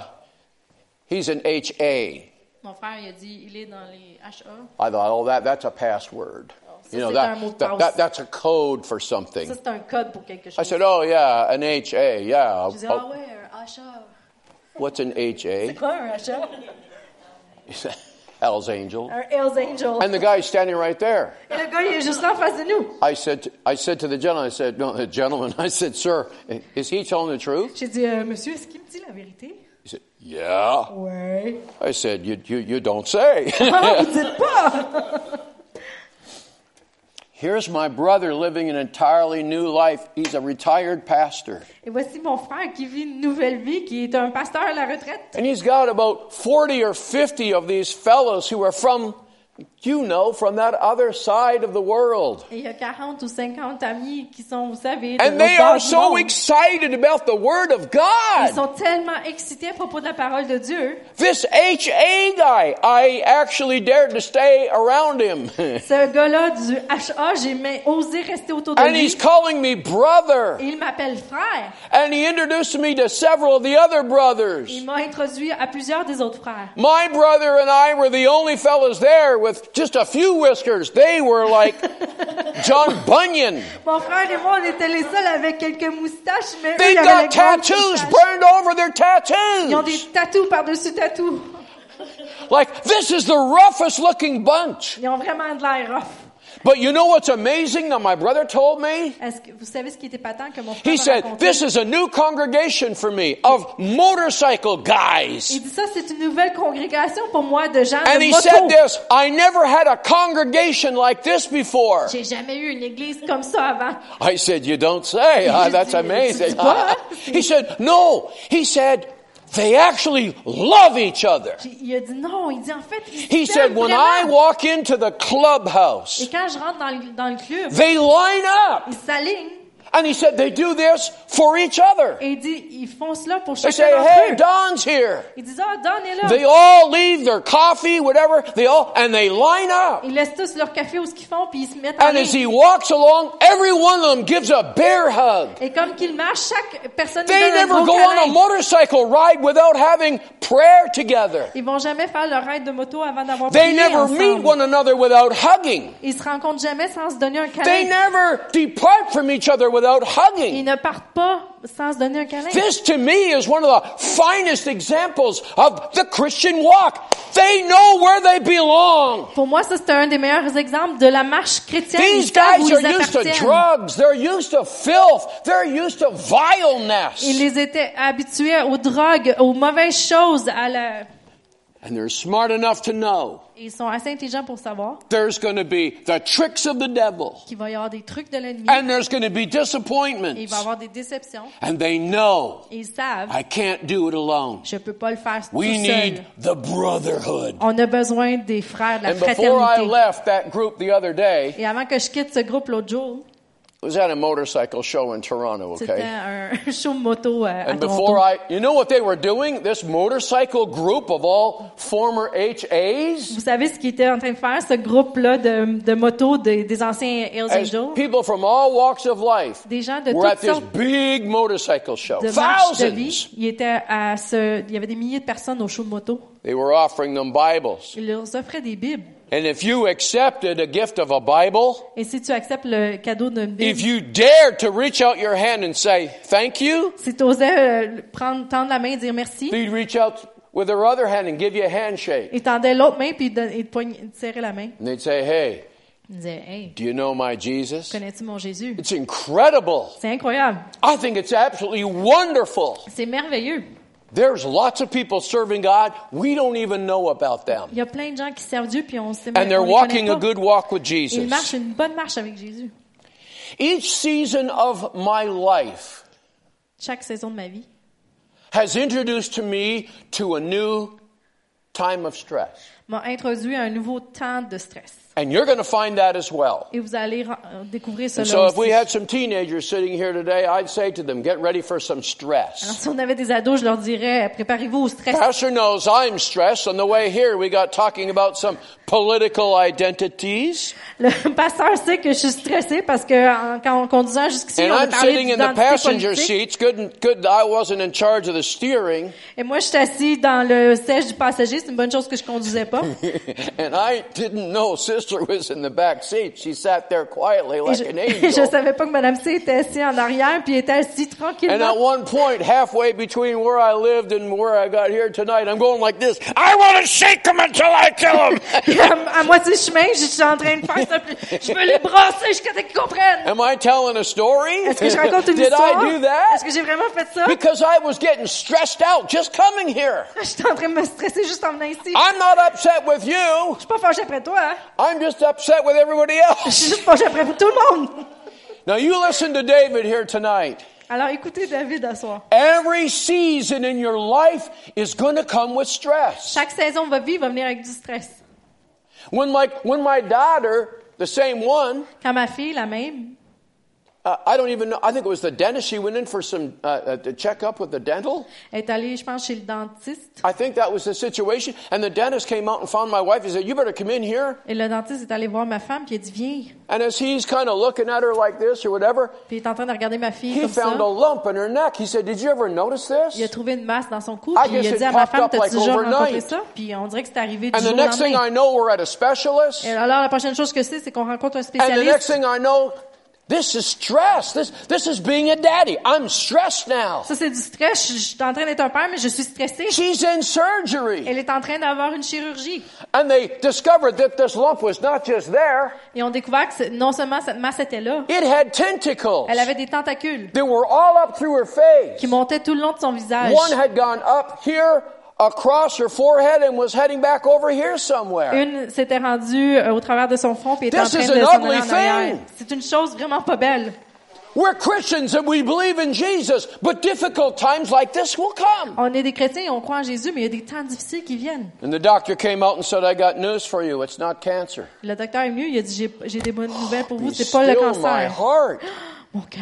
he's an H A. Mon frère, il a dit, il est dans les H A. I thought, oh, that, that's a password. ça, You know, c'est un mot de that, that, passe. that, that's a code for something. Ça, c'est un code pour quelque I chose. said, oh, yeah, an H A, yeah. Je dis, Oh, ah ouais, un H A. what's an H A? C'est quoi un H A? He said, Hell's Angel. Un Hells Angel. And the guy's standing right there. Et le gars, il est juste là en face de nous. I said, to, I said to the gentleman, I said, no, the gentleman, I said, sir, is he telling the truth? J'ai dit, euh, monsieur, est-ce qu'il me dit la vérité? He said, yeah. Ouais. I said, you, you, you don't say. Ah, vous dites pas! Here's my brother living an entirely new life. He's a retired pastor. Et voici mon frère qui vit une nouvelle vie, qui est un pasteur à la retraite. And he's got about forty or fifty of these fellows who are from, you know, from that other side of the world. Et il y a quarante ou cinquante amis qui sont, vous savez, de And l'autre they bord are du so monde. excited about the Word of Ils God. sont tellement excités à propos de la parole de Dieu. This H A guy, I actually dared to stay around him. Ce gars-là du H A, j'ai même osé rester autour de And lui. he's calling me brother. Et il m'appelle frère. And he introduced me to several of the other brothers. Il m'a introduit à plusieurs des autres frères. My brother and I were the only fellows there with just a few whiskers. They were like John Bunyan. Mon frère et moi, on était les seuls avec quelques moustaches, mais eux, They ils avaient got les grandes tattoos moustaches. burned over their Ils ont des tattoos. tatous par-dessus tatous. Like, this is the roughest looking bunch. Ils ont vraiment de l'air rough. But you know what's amazing that my brother told me? Est-ce que vous savez ce qui était patent que mon frère He m'a said, raconté? this is a new congregation for me of motorcycle Il guys. dit ça, c'est une nouvelle congrégation pour moi de gens And de he moto. said this, I never had a congregation like this before. J'ai jamais eu une église comme ça avant. I said, you don't say. Ah, that's Tu dis amazing. pas, hein? He said, no. He said, they actually love each other. J'ai- Il a dit non, il dit en fait, ils He s'aiment said, when I vraiment. walk into the clubhouse, Et quand je rentre dans le, dans le club, they line up. ils s'alignent And he said, they do this for each other. et il dit, ils font cela pour They chacun say, d'entre hey, eux. Don's here. Ils disent, ah, Don est là. They all leave their coffee, whatever, they all, and they line up. Ils laissent tous leur café où ce qu'ils font, puis ils se mettent en And as ligne. he walks along, every one of them gives a bear hug. Et comme qu'ils marchent, chaque personne lui They donne un never gros go on a câlin. motorcycle ride without having prayer together. Ils vont jamais faire leur ride de moto avant d'avoir They prié never meet ensemble. one another without hugging. Ils se rencontrent jamais sans se donner un They câlin. never depart from each other without Ils hugging. ne partent pas sans se donner un câlin. This to me is one of the finest examples of the Christian walk. They know where they belong. Pour moi, ça, c'est un des meilleurs exemples de la marche chrétienne. Ils These savent où guys ils are used to appartiennent. drugs. They're used to filth. They're used to vileness. Ils les étaient habitués aux drogues, aux mauvaises choses, à la... And they're smart enough to know Et ils sont assez intelligents pour savoir there's going to be the tricks of the devil. qu'il va y avoir des trucs de l'ennemi. And there's going to be Et disappointments. il va y avoir des déceptions. And they know Et ils savent, I can't do it alone. je peux pas le faire tout We need seul. the brotherhood. On a besoin des frères, de la And before I fraternité. left that group the other day, Et avant que je quitte ce groupe l'autre jour, it was at a motorcycle show in Toronto, c'était okay? un show moto à, à And before Toronto. I, you know what they were doing? This motorcycle group of all former H As? Vous savez ce qu'ils étaient en train de faire, ce groupe-là de, de motos des, des anciens Hells As Angels? people from all walks of life Des gens de were at toutes this sortes big motorcycle show. de marches de vie. Thousands. Il était à ce, il y avait des milliers de personnes au show de moto. They were offering them Bibles. Ils leur offraient des Bibles. And if you accepted a gift of a Bible, Et si tu acceptes le cadeau d'une Bible, if you dared to reach out your hand and say, thank you, si tu osais prendre, tendre la main et dire merci, they'd reach out with their other hand and give you a handshake. ils tendaient l'autre main puis ils te, ils te poign- ils te serraient la main. And they'd say, hey, Ils disaient, hey, do you know my Jesus? connais-tu mon Jésus? It's incredible. C'est incroyable. I think it's absolutely wonderful. C'est merveilleux. There's lots of people serving God. We don't even know about them. Il y a plein de gens qui servent Dieu puis on sait And même they're on les walking connaît a pas. good walk with Ils Jesus. marchent une bonne marche avec Jésus. Each season of my life Chaque saison de ma vie has introduced to me to a new time of stress. m'a introduit à un nouveau temps de stress. And you're going to find that as well. Et vous allez ren- euh, découvrir And cela so if we aussi. had some teenagers sitting here today, I'd say to them, get ready for some Alors, stress. si on avait des ados, je leur dirais, préparez-vous au stress. Pastor knows I'm stressed. On the way here, we got talking about some political identities. Le pasteur sait que je suis stressée parce que en, quand on conduisait jusqu'ici, And on a I'm parlé sitting in the d'identité passenger politique. seats. Good, good that I wasn't in charge of the steering. Et moi, je suis assis dans le siège du passager. C'est une bonne chose que je conduisais pas. And I didn't know Sister was in the back seat. She sat there quietly Et like je, an et je angel. savais pas que Madame C était assise en arrière puis était assise And at tranquillement. one point, halfway between where I lived and where I got here tonight, I'm going like this. I want to shake them until I kill them. Puis à, à moitié chemin, je suis en train de faire ça. puis Je veux les brasser jusqu'à ce qu'ils comprennent. Am I telling a story? Est-ce que je raconte une Did histoire? I do that? Est-ce que j'ai vraiment fait ça? Because I was getting stressed out just coming here. J'étais en train de me stresser juste en venant ici. I'm not upset with you. Je suis pas fâchée après toi, hein? I'm just upset with everybody Je else. suis juste fâchée après tout le monde. Now you listen to David here tonight. Alors écoutez David à soir. Every season in your life is going to come with stress. Chaque saison de votre vie va venir avec du stress. When like when my daughter, the same one, Quand ma fille, la même, uh, I don't even know. I think it was the dentist. She went in for some uh, uh, to check up with the dental. est allée, je pense, chez le dentiste. I think that was the situation. And the dentist came out and found my wife. He said, "You better come in here." Et le dentiste est allé voir ma femme, puis il a dit, viens. And as he's kind of looking at her like this or whatever, Puis il est en train de regarder ma fille he comme ça. found a lump in her neck. He said, "Did you ever notice Il a this?" trouvé une masse dans son cou, I puis il guess a it dit à ma popped femme, up t'as-tu like déjà rencontré overnight. ça? Puis on dirait que c'est arrivé du And the jour au next thing lendemain. I know, we're at a specialist. Et alors la prochaine chose que c'est, c'est qu'on rencontre un And the next spécialiste. thing I know, this is stress. This this is being a daddy. I'm stressed now. Ça, c'est du stress. Je, je suis en train d'être un père, mais je suis stressée. She's in surgery. Elle est en train d'avoir une chirurgie. And they discovered that this lump was not just there. Et on a découvert que c'est- non seulement cette masse était là, It had tentacles. elle avait des tentacules They were all up through her face. qui montaient tout le long de son visage. One had gone up here across her forehead and was heading back over here somewhere. Une s'était rendue euh, au travers de son front puis était en This train is de an s'en ugly aller en arrière. thing. C'est une chose vraiment pas belle. We're Christians and we believe in Jesus, but difficult times like this will come. On est des chrétiens et on croit en Jésus, mais il y a des temps difficiles qui viennent. And the doctor came out and said, "I got news for you. It's not cancer." Le docteur est mieux, il a dit j'ai, j'ai des bonnes nouvelles pour vous, Be c'est pas le still my cancer. heart. Mon cœur.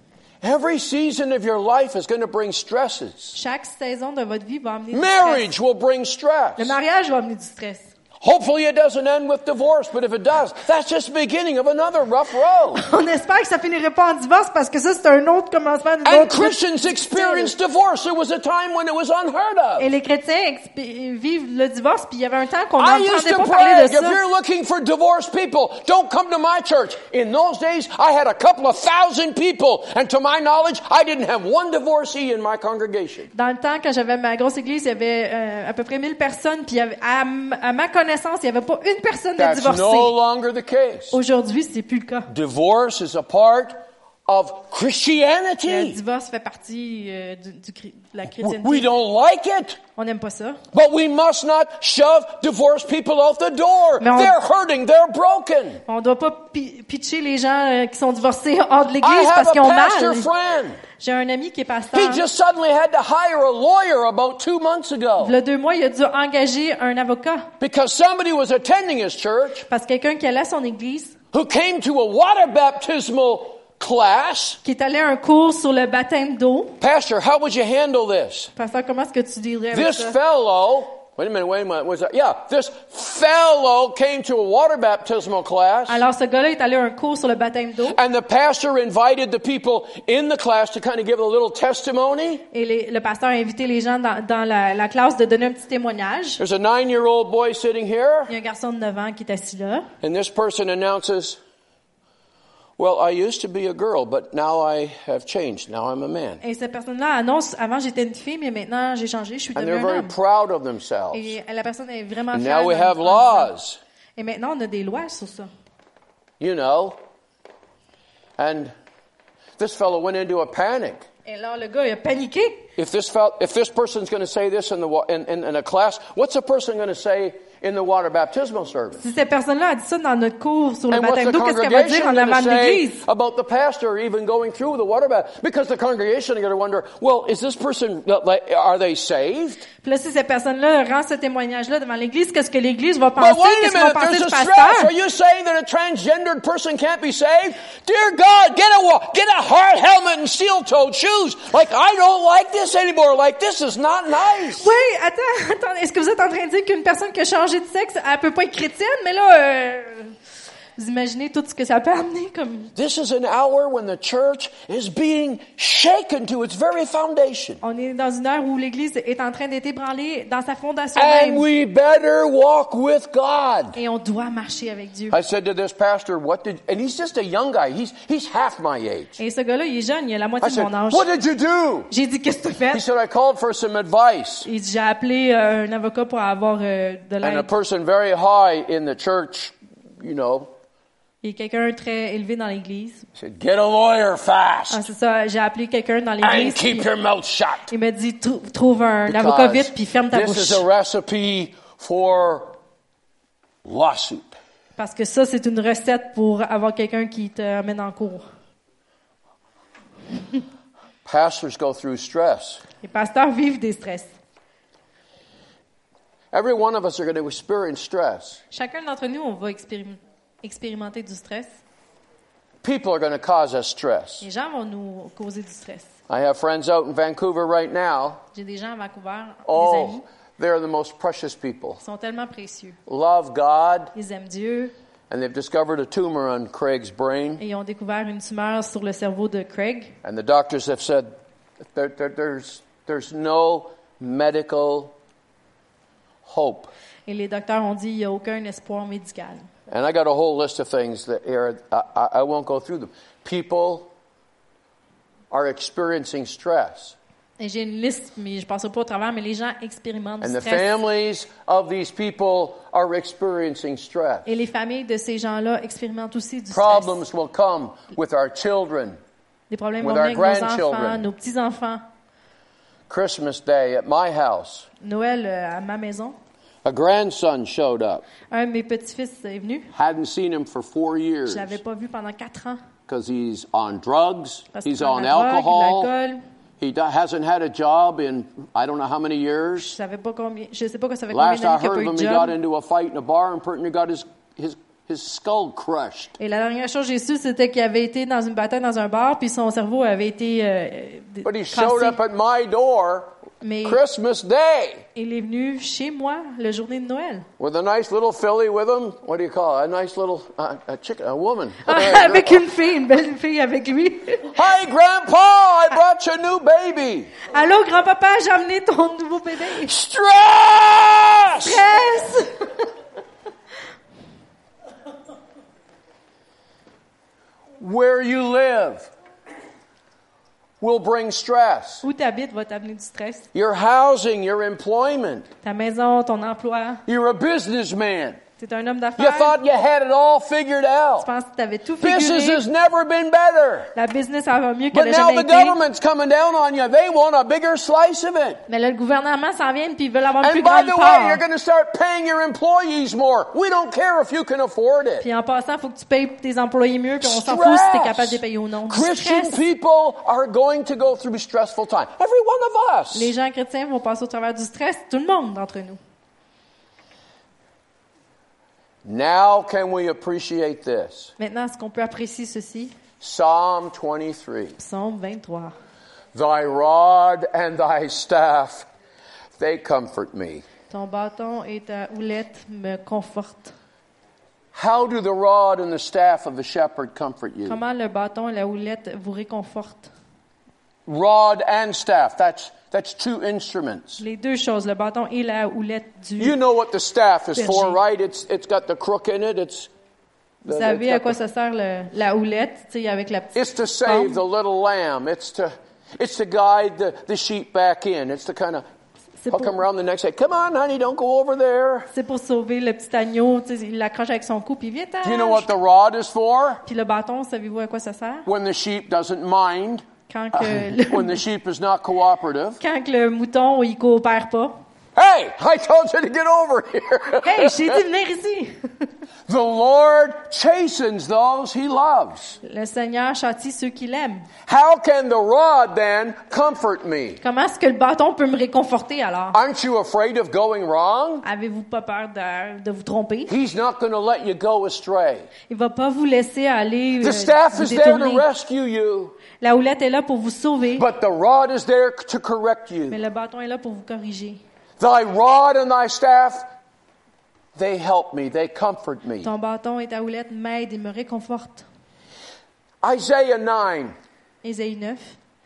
Every season of your life is going to bring stresses. Chaque saison de votre vie va amener du Marriage stress. will bring stress. Le mariage va amener du stress. Hopefully it doesn't end with divorce, but if it does, that's just the beginning of another rough road. On espère que ça finirait pas en divorce parce que ça c'est un autre commencement d'une And autre. Christians experience divorce. There was a time when it was unheard of. Et les chrétiens exp- vivent le divorce puis il y avait un temps qu'on I used n'entendait to pas parler brag, de if ça. you're looking for divorced people, don't come to my church. In those days, I had a couple of thousand people, and to my knowledge, I didn't have one divorcee in my congregation. Dans le temps, quand j'avais ma grosse église, il y avait euh, à peu près mille personnes, puis il y avait, à, m- à ma connaissance, il n'y avait pas une personne de That's divorcée. no longer the case. Aujourd'hui, c'est plus le cas. Divorce is a part of Le Christianity. divorce fait partie euh, du, du, chri- de la We chrétienté. don't like it. On n'aime pas ça. But we must not shove divorced people out the door. Mais on- They're hurting. They're broken. On ne doit pas pi- pitcher les gens euh, qui sont divorcés hors de I l'église have parce a qu'ils ont pastor mal. friend. J'ai un ami qui est pasteur. He just suddenly had to hire a lawyer about two months ago Il y a deux mois, il a dû engager un avocat because somebody was attending his church parce que quelqu'un qui allait à son église, who came to a water baptismal class. qui est allé à un cours sur le baptême d'eau. Pastor, how would you handle this? Pasteur, comment est-ce que tu dirais avec This ça? fellow, wait a minute, wait a minute, what's that? Yeah, this fellow came to a water baptismal class. Alors, ce gars-là est allé à un cours sur le baptême d'eau And the pastor invited the people in the class to kind of give a little testimony. et les- le pasteur a invité les gens dans, dans la, la classe de donner un petit témoignage. There's a nine-year-old boy sitting here, Il y a un garçon de neuf ans qui est assis là. and this person announces, well, I used to be a girl, but now I have changed. Now I'm a man. Et cette personne-là annonce, avant j'étais une fille, mais maintenant j'ai changé, je suis And devenu they're un very homme. proud of themselves. Et la personne est vraiment And fière. now we de- have en disant- laws, Et maintenant, on a des lois sur ça. you know. And this fellow went into a panic. Et là, le gars, il a paniqué. If this fel- if this person's going to say this in the wa- in, in, in a class, what's a person going to say in the water baptismal service? Si cette personne-là a dit ça dans notre cours sur le And what's baptême the d'eau, qu'est-ce qu'elle va dire congregation en going avant to de say l'église? about the pastor even going through the water baptism? Because the congregation is going to wonder, well, is this person, like, are they saved? Puis là, si cette personne-là rend ce témoignage-là devant l'église, qu'est-ce que l'église va But penser? wait a Qu'est-ce qu'ils vont minute, penser there's du a stress. pasteur? Are you saying that a transgendered person can't be saved? Dear God, get a wa- get a hard helmet and steel-toed shoes. Like, I don't like this anymore. Like, this is not nice. Oui, attends, attends. Est-ce que vous êtes en train de dire qu'une personne qui a changé de sexe, elle peut pas être chrétienne? Mais là, euh, vous imaginez tout ce que ça peut amener comme... This is an hour when the church is being shaken to its very foundation. On est dans une heure où l'Église est en train d'être ébranlée dans sa fondation And même. we better walk with God. Et on doit marcher avec Dieu. I said to this pastor, what did, and he's just a young guy. He's, he's half my age. Et ce gars-là, il est jeune, il a la I moitié de said, mon âge. what did you do? J'ai dit, qu'est-ce que tu He fais? said, I called for some advice. Il dit, j'ai appelé euh, un avocat pour avoir euh, de And a l'aide. person very high in the church, you know, Il y a quelqu'un très élevé dans l'Église. said, get a lawyer Ah, fast c'est ça, j'ai appelé quelqu'un dans and l'Église. keep puis your mouth shut. Il m'a dit, Trou- trouve un avocat Because vite, puis ferme ta this bouche. is a recipe for lawsuit. Parce que ça, c'est une recette pour avoir quelqu'un qui te amène en cours. Pastors go through stress. Les pasteurs vivent des stress. Every one of us are going to experience stress. Chacun d'entre nous, on va expérim- expérimenter du stress. People are going to cause us stress. Les gens vont nous causer du stress. I have friends out in Vancouver right now. J'ai des gens à Vancouver, des amis, Oh, they're the most precious people. qui sont tellement précieux. Love God, Ils aiment Dieu and they've discovered a tumor on Craig's brain. et ils ont découvert une tumeur sur le cerveau de Craig. And the doctors have said there, there, there's, there's no medical hope. Et les docteurs ont dit qu'il n'y a aucun espoir médical. And I got a whole list of things that here, I, I, I won't go through them. People are experiencing stress. Et j'ai une liste, mais je ne passerai pas au travers, mais les gens expérimentent And du the stress. families of these people are experiencing stress. Et les familles de ces gens-là expérimentent aussi du stress. Problems will come with our children. Des problèmes with vont our venir avec nos enfants, grandchildren. nos petits-enfants. Christmas Day at my house, Noël euh, à ma maison. a grandson showed up. Un de mes petits-fils est venu. Hadn't seen him for four years Je l'avais pas vu pendant quatre ans. because he's on drugs, Parce qu'il he's prend on de la drogue, de alcohol. l'alcool. He do- hasn't had a job in I don't know how many Je years. savais pas combien, je sais pas que ça fait combien Last I d'années qu'il n'a heard pas of eu him, de he got job. into a fight in a bar and pretty near got his, his, his skull crushed. Et la dernière chose que j'ai su, c'était qu'il avait été dans une bataille dans un bar, puis son cerveau avait été euh, d- But he showed cassé. up at my door Mais Christmas Day il est venu chez moi la journée de Noël. with a nice little filly with him. What do you call it? A nice little uh, a chicken, a woman. Avec une fille, une belle fille avec lui. Hi, Grandpa! I brought you a new baby. Allô, grand-papa, j'ai amené ton nouveau bébé. Stress! Stress! Where you live will bring stress. Où tu habites va t'amener du stress. Your housing, your employment. Ta maison, ton emploi. You're a businessman. T'es un homme You d'affaires. thought you had it all figured Tu out. penses que t'avais tout Business figuré. has never been better. La business, ça va mieux But qu'elle a now jamais the été. government's coming down on you. They want a bigger slice of it. Mais là, le gouvernement s'en vient puis ils veulent avoir une And plus by grande the way, you're part. going to start paying your employees more. We don't care if you can afford it. Puis en passant, il faut que tu payes tes employés mieux puis on s'en fout si t'es capable de les payer ou non. Du Christian stress. people are going to go through a stressful time. Every one of us. Les gens chrétiens vont passer au travers du stress, tout le monde d'entre nous. Now can we appreciate this? Maintenant, est-ce qu'on peut apprécier ceci? Psalm twenty-three. Psaume vingt-trois. Thy rod and thy staff, they comfort me. Ton bâton et ta houlette me confortent. How do the rod and the staff of the shepherd comfort you? Comment le bâton et la houlette vous réconfortent? Rod and staff, that's that's two instruments. Les deux choses, le bâton et la houlette du... You know what the staff is for, Berger. right? It's it's got the crook in it. It's Vous the- savez it's à got quoi the- ça sert le- la houlette, tu sais, avec la petite... It's to save the pomme. little lamb. It's to it's to guide the, the sheep back in. It's to kind of C'est hook pour, them around the neck. Say, come on, honey, don't go over there. c'est pour sauver le petit agneau, tu sais, il l'accroche avec son cou, puis viens Do you know what the rod is for? Puis le bâton, savez-vous à quoi ça sert? When the sheep doesn't mind, Quand que le, when the sheep is not cooperative. quand que le mouton, il coopère pas. Hey, I told you to get over here. Hey, je t'ai dit de venir ici! The Lord chastens those he loves. Le Seigneur châtie ceux qui l'aiment. How can the rod then comfort me? Comment est-ce que le bâton peut me réconforter alors? Aren't you afraid of going wrong? Avez-vous pas peur de, de vous tromper? He's not going to let you go astray. Il va pas vous laisser aller The euh, staff vous is there to détourner. rescue you, La houlette est là pour vous sauver, but the rod is there to correct mais you. le bâton est là pour vous corriger. Thy rod and thy staff, they help me, they comfort me. Ton bâton et ta houlette m'aident et me réconfortent. Isaiah nine, Ésaïe neuf.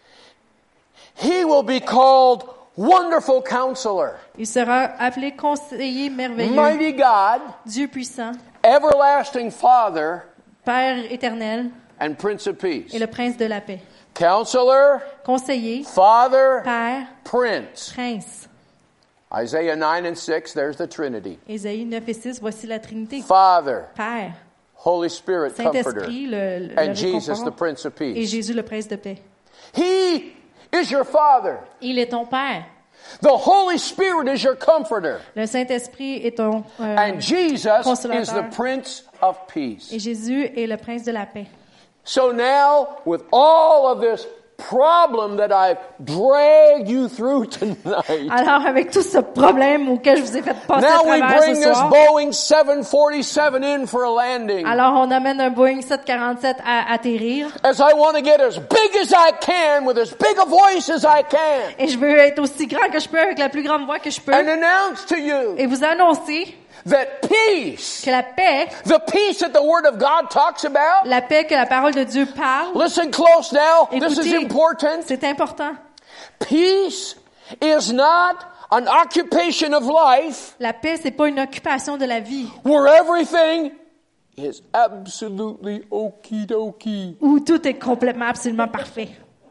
he will be called Wonderful Counselor, Il sera appelé conseiller merveilleux, Mighty God, Dieu puissant, Everlasting Father, Père éternel and Prince of Peace. et le prince de la paix. Counselor, Conseiller, Father, Père, Prince. prince. Isaiah nine and six, there's the Trinity. Ésaïe neuf et six, voici la Trinité. Father, Père, Holy Spirit, Comforter, Saint-Esprit, le, le and Jesus, the réconfort, Prince of et Peace. Jésus, le prince de paix. He is your Father. Il est ton Père. The Holy Spirit is your Comforter. Le Saint-Esprit est ton... euh, And Jesus is Consolateur. the Prince of Peace. et Jésus est le prince de la paix. So now, with all of this problem that I've dragged you through tonight, Alors, avec tout ce problème auquel je vous ai fait passer à now we travers bring ce this soir, Boeing seven forty-seven in for a landing. alors on amène un Boeing sept quarante-sept à atterrir. As I want to get as big as I can with as big a voice as I can Et je veux être aussi grand que je peux avec la plus grande voix que je peux. and announce to you Et vous annoncer that peace, que la paix, the peace that the Word of God talks about, la paix que la parole de Dieu parle, listen close now, this is écoutez, important. c'est important. Peace is not an occupation of life La paix, c'est pas une occupation de la vie where everything is absolutely okie dokie. où tout est complètement, absolument parfait.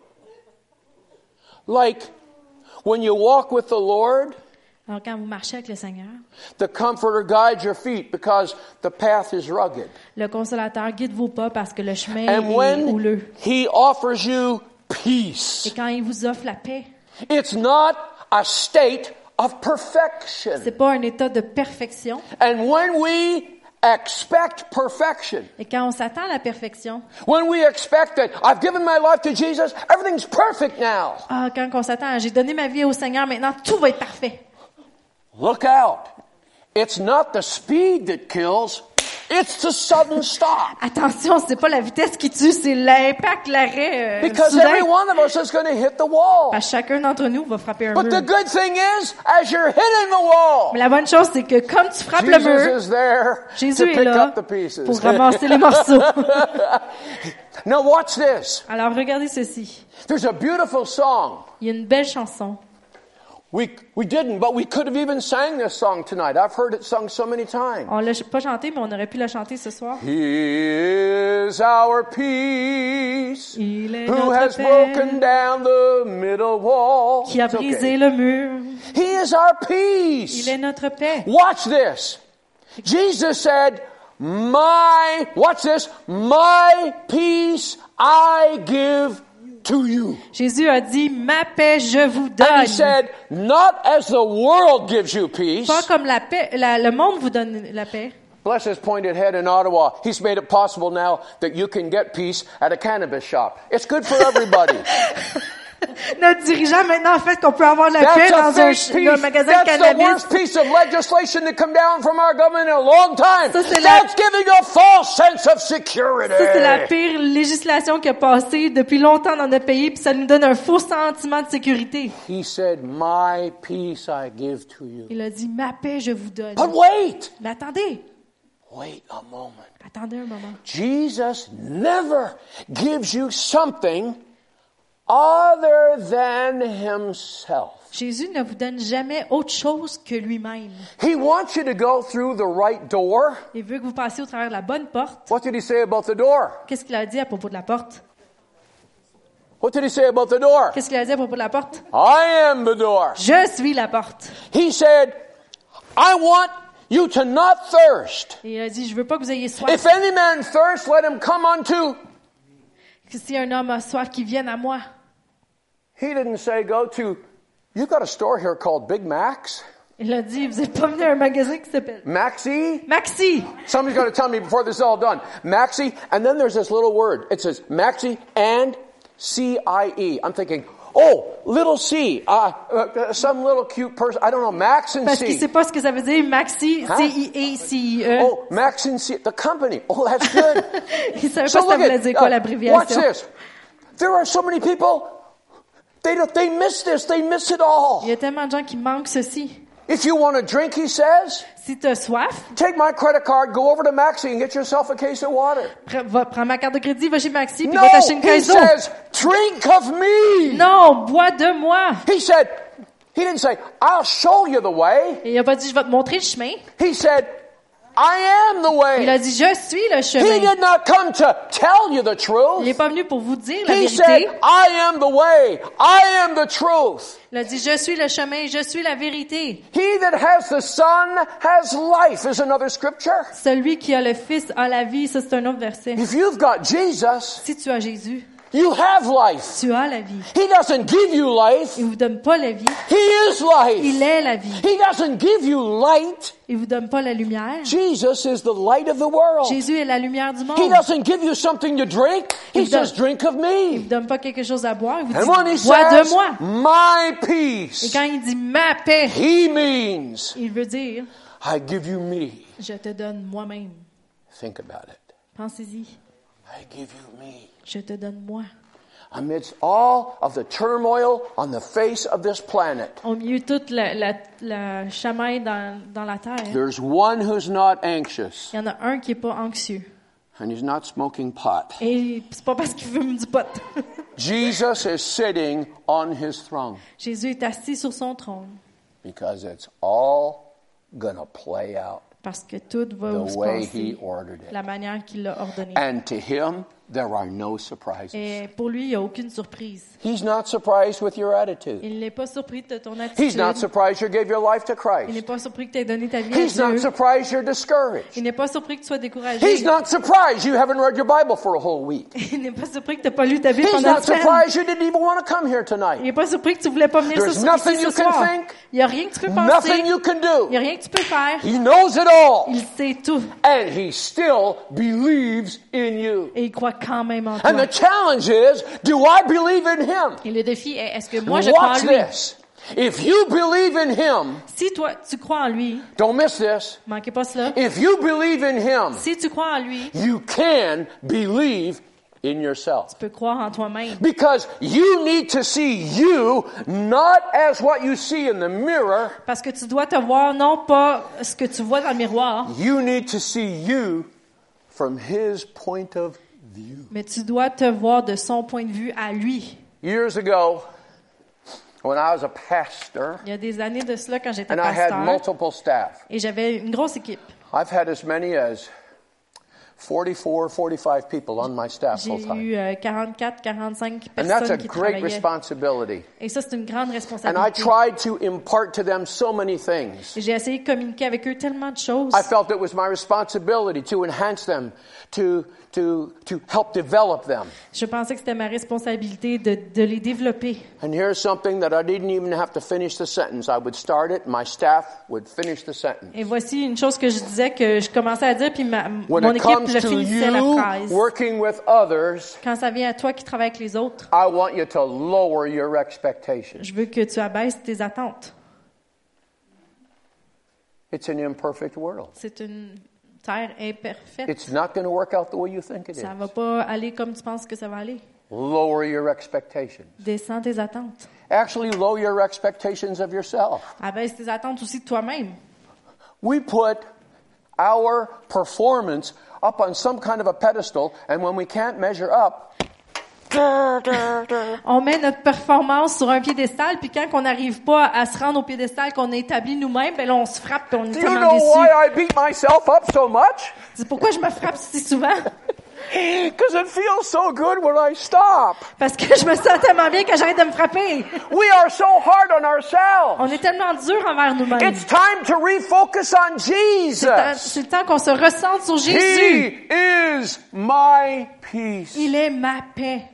Like when you walk with the Lord, Alors quand vous marchez avec le Seigneur, the Comforter guides your feet because the path is rugged. le Consolateur guide vos pas parce que le chemin And est when houleux. He offers you Et peace, quand il vous offre la paix, it's not a state of perfection. c'est pas un état de perfection. And when we expect perfection, Et quand on s'attend à la perfection, when we expect that I've given my life to Jesus, everything's perfect now. ah, quand on s'attend à j'ai donné ma vie au Seigneur, maintenant tout va être parfait. Look out. It's not the speed that kills, it's the sudden stop. Attention, c'est pas la vitesse qui tue, c'est l'impact, l'arrêt euh, Because soudain. every one of us is going to hit the wall. Parce que chacun d'entre nous va frapper un But the mur. good thing is, as you're hitting the wall, Mais la bonne chose, c'est que comme tu frappes le Jesus mur, is there Jésus to est pick là up the pieces. pour ramasser les morceaux. Now watch this. Alors regardez ceci. There's a beautiful song. Il y a une belle chanson. We we didn't, but we could have even sang this song tonight. I've heard it sung so many times. On l'a pas chanté, mais on aurait pu la chanter ce soir. He is our peace, Il est who notre has paix, broken down the middle wall. qui a It's brisé okay. le mur. He is our Il peace. est notre paix. Watch this. Jesus said, my, watch this, my peace I give to you. Jésus a dit, ma paix je vous And donne. he said, not as the world gives you peace. Pas comme la paix, la- le monde vous donne la paix. Bless his pointed head in Ottawa. He's made it possible now that you can get peace at a cannabis shop. It's good for everybody. Notre dirigeant maintenant a fait qu'on peut avoir la paix That's a dans un, fake ch- un peace. magasin de That's the cannabis. worst piece of legislation to come down from our government in a long time. Ça, c'est la- That's giving a false sense of security. Ça, c'est la pire législation qui a passé depuis longtemps dans notre pays, puis ça nous donne un faux sentiment de sécurité. He said, my peace I give to you. Il a dit, ma paix je vous donne. But wait, Mais attendez, wait a moment. attendez un moment. Jesus never gives you something other than himself. Jésus ne vous donne jamais autre chose que lui-même. He wants you to go through the right door. Il veut que vous passiez au travers de la bonne porte. What did he say about the door? Qu'est-ce qu'il a dit à propos de la porte? What did he say about the door? Qu'est-ce qu'il a dit à propos de la porte? I am the door. Je suis la porte. He said, I want you to not thirst. Et il a dit, je veux pas que vous ayez soif. If any man thirst, let him come unto. Que si un homme a soif, qu'il vienne à moi. He didn't say go to, you got a store here called Big Macs? Il a dit, vous êtes pas venu à un magasin qui s'appelle Maxi? Maxi. Somebody's going to tell me before this is all done. Maxi, and then there's this little word. It says Maxi and C I E. I'm thinking, oh, little C. Uh, uh, some little cute person. I don't know, Max and Parce qu'il C. sait pas ce que ça veut dire, Maxi, Hein? C I E C I E. Oh, Max and C. The company. Oh, that's good. Il savait So pas ça look voulait at, dire quoi uh, watch l'abréviation. this. There are so many people, they don't, they miss this, they miss it all. Il y a tellement de gens qui manquent ceci. If you want a drink, he says, Si tu as soif, take my credit card, go over to Maxi and get yourself a case of water. pre- va, prends ma carte de crédit, va chez Maxi, puis No, va t'acheter une he caisse d'eau. says, drink of me. Non, bois de moi. He said, he didn't say, I'll show you the way. Et il a pas dit, je vais te montrer le chemin. He said, I am the Il a way. dit, je suis le He chemin. did not come to tell you the Il truth. n'est pas venu pour vous dire la He vérité. said, I am the way. I am the truth. Il a dit, je suis le chemin, je suis la vérité. He that has the Son has life is another scripture. Celui qui a le Fils a la vie. Ça, c'est un autre verset. If you've got Jesus, Si tu as Jésus, you have life. tu as la vie. He doesn't give you life. Il vous donne pas la vie. He is life. Il est la vie. He doesn't give you light. Il vous donne pas la lumière. Jesus is the light of the world. Jésus est la lumière du monde. He doesn't give you something to drink. He Il donne- says, drink of Il me. vous donne pas quelque chose à boire. Il vous And when he dit, bois de says, moi. my Et peace, quand il dit ma paix, he means, il veut dire, I give you me. je te donne moi-même. Think about it. Pensez-y. I give you me. Je te donne moi. Amidst all of the turmoil on the face of this planet, Au milieu de toute la, la, la chamaille dans, dans la terre, there's one who's not anxious, il y en a un qui est pas anxieux. and he's not smoking pot. Et c'est pas parce qu'il fume du pot. Jesus is sitting on his throne Jésus est assis sur son trône because it's all gonna play out parce que tout va the se way he passer ordered it. la manière qu'il l'a ordonné. And to him, there are no surprises. Et pour lui, il n'y a aucune surprise. He's not surprised with your attitude. Il n'est pas surpris de ton He's not attitude. surprised you gave your life to Il n'est Christ. pas surpris que tu aies donné ta vie à He's not Dieu. surprised you're discouraged. Il n'est pas surpris que tu sois découragé. He's not surprised you haven't read your Bible for a whole week. Il n'est pas surpris que tu n'as pas lu ta Bible He's pendant not une semaine. surprised you didn't even want to come here Il tonight. n'est pas surpris que tu voulais pas venir ce, There's ici nothing ce you can soir. think, Il n'y a rien que tu peux penser. Nothing you can Il n'y a do. rien que tu peux faire. He knows it all. Il sait tout. And he still believes in you. Et il croit quand même en toi. And the challenge is, do I believe in him? Et le défi est, est-ce que moi je crois en Watch lui? this. If you believe in him, Si toi, tu crois en lui, don't miss this. manquez pas cela. If you believe in him, Si tu crois en lui, you can believe in yourself. tu peux croire en toi-même. Because you need to see you not as what you see in the mirror. Parce que tu dois te voir non pas ce que tu vois dans le miroir, You need to see you from his point of view. mais tu dois te voir de son point de vue à lui. Years ago, when I was a pastor Il y a des années de cela, quand j'étais and I had pasteur, multiple staff, et j'avais une grosse équipe. I've had as many as forty-four, forty-five people on my staff J'ai full time. eu euh, quarante-quatre, quarante-cinq And that's a personnes qui great travaillaient. responsibility. Et ça, c'est une grande And I responsabilité. tried to impart to them so many things. Et J'ai essayé de communiquer avec eux tellement de choses. I felt it was my responsibility to enhance them, to, to, to help develop them. Je pensais que c'était ma responsabilité de, de les développer. And here's something that I didn't even have to finish the sentence. I would start it, my staff would finish the sentence. Et voici une chose que je disais, que je commençais à dire, puis ma, When mon it équipe comes le to finissait la you phrase. working with others, Quand ça vient à toi qui travailles avec les autres, I want you to lower your expectations. je veux que tu abaisses tes attentes. It's an imperfect world. C'est une terre imparfaite. It's not going to work out the way you think it is. Ça va pas aller comme tu penses que ça va aller. Lower your expectations. Descends tes attentes. Actually, lower your expectations of yourself. Abaisse tes attentes aussi de toi-même. We put our performance up on some kind of a pedestal, and when we can't measure up, On met notre performance sur un piédestal, puis quand on n'arrive pas à se rendre au piédestal qu'on a établi nous-mêmes, ben là, on se frappe et on est do you tellement know why déçu. I beat myself up so much? C'est pourquoi je me frappe si souvent? Because it feels so good when I stop. Parce que je me sens tellement bien que j'arrête de me frapper. We are so hard on ourselves. On est tellement dur envers nous-mêmes. It's time to refocus on C'est le temps- Jesus. c'est le temps qu'on se ressente sur He Jésus. is my peace. Il est ma paix.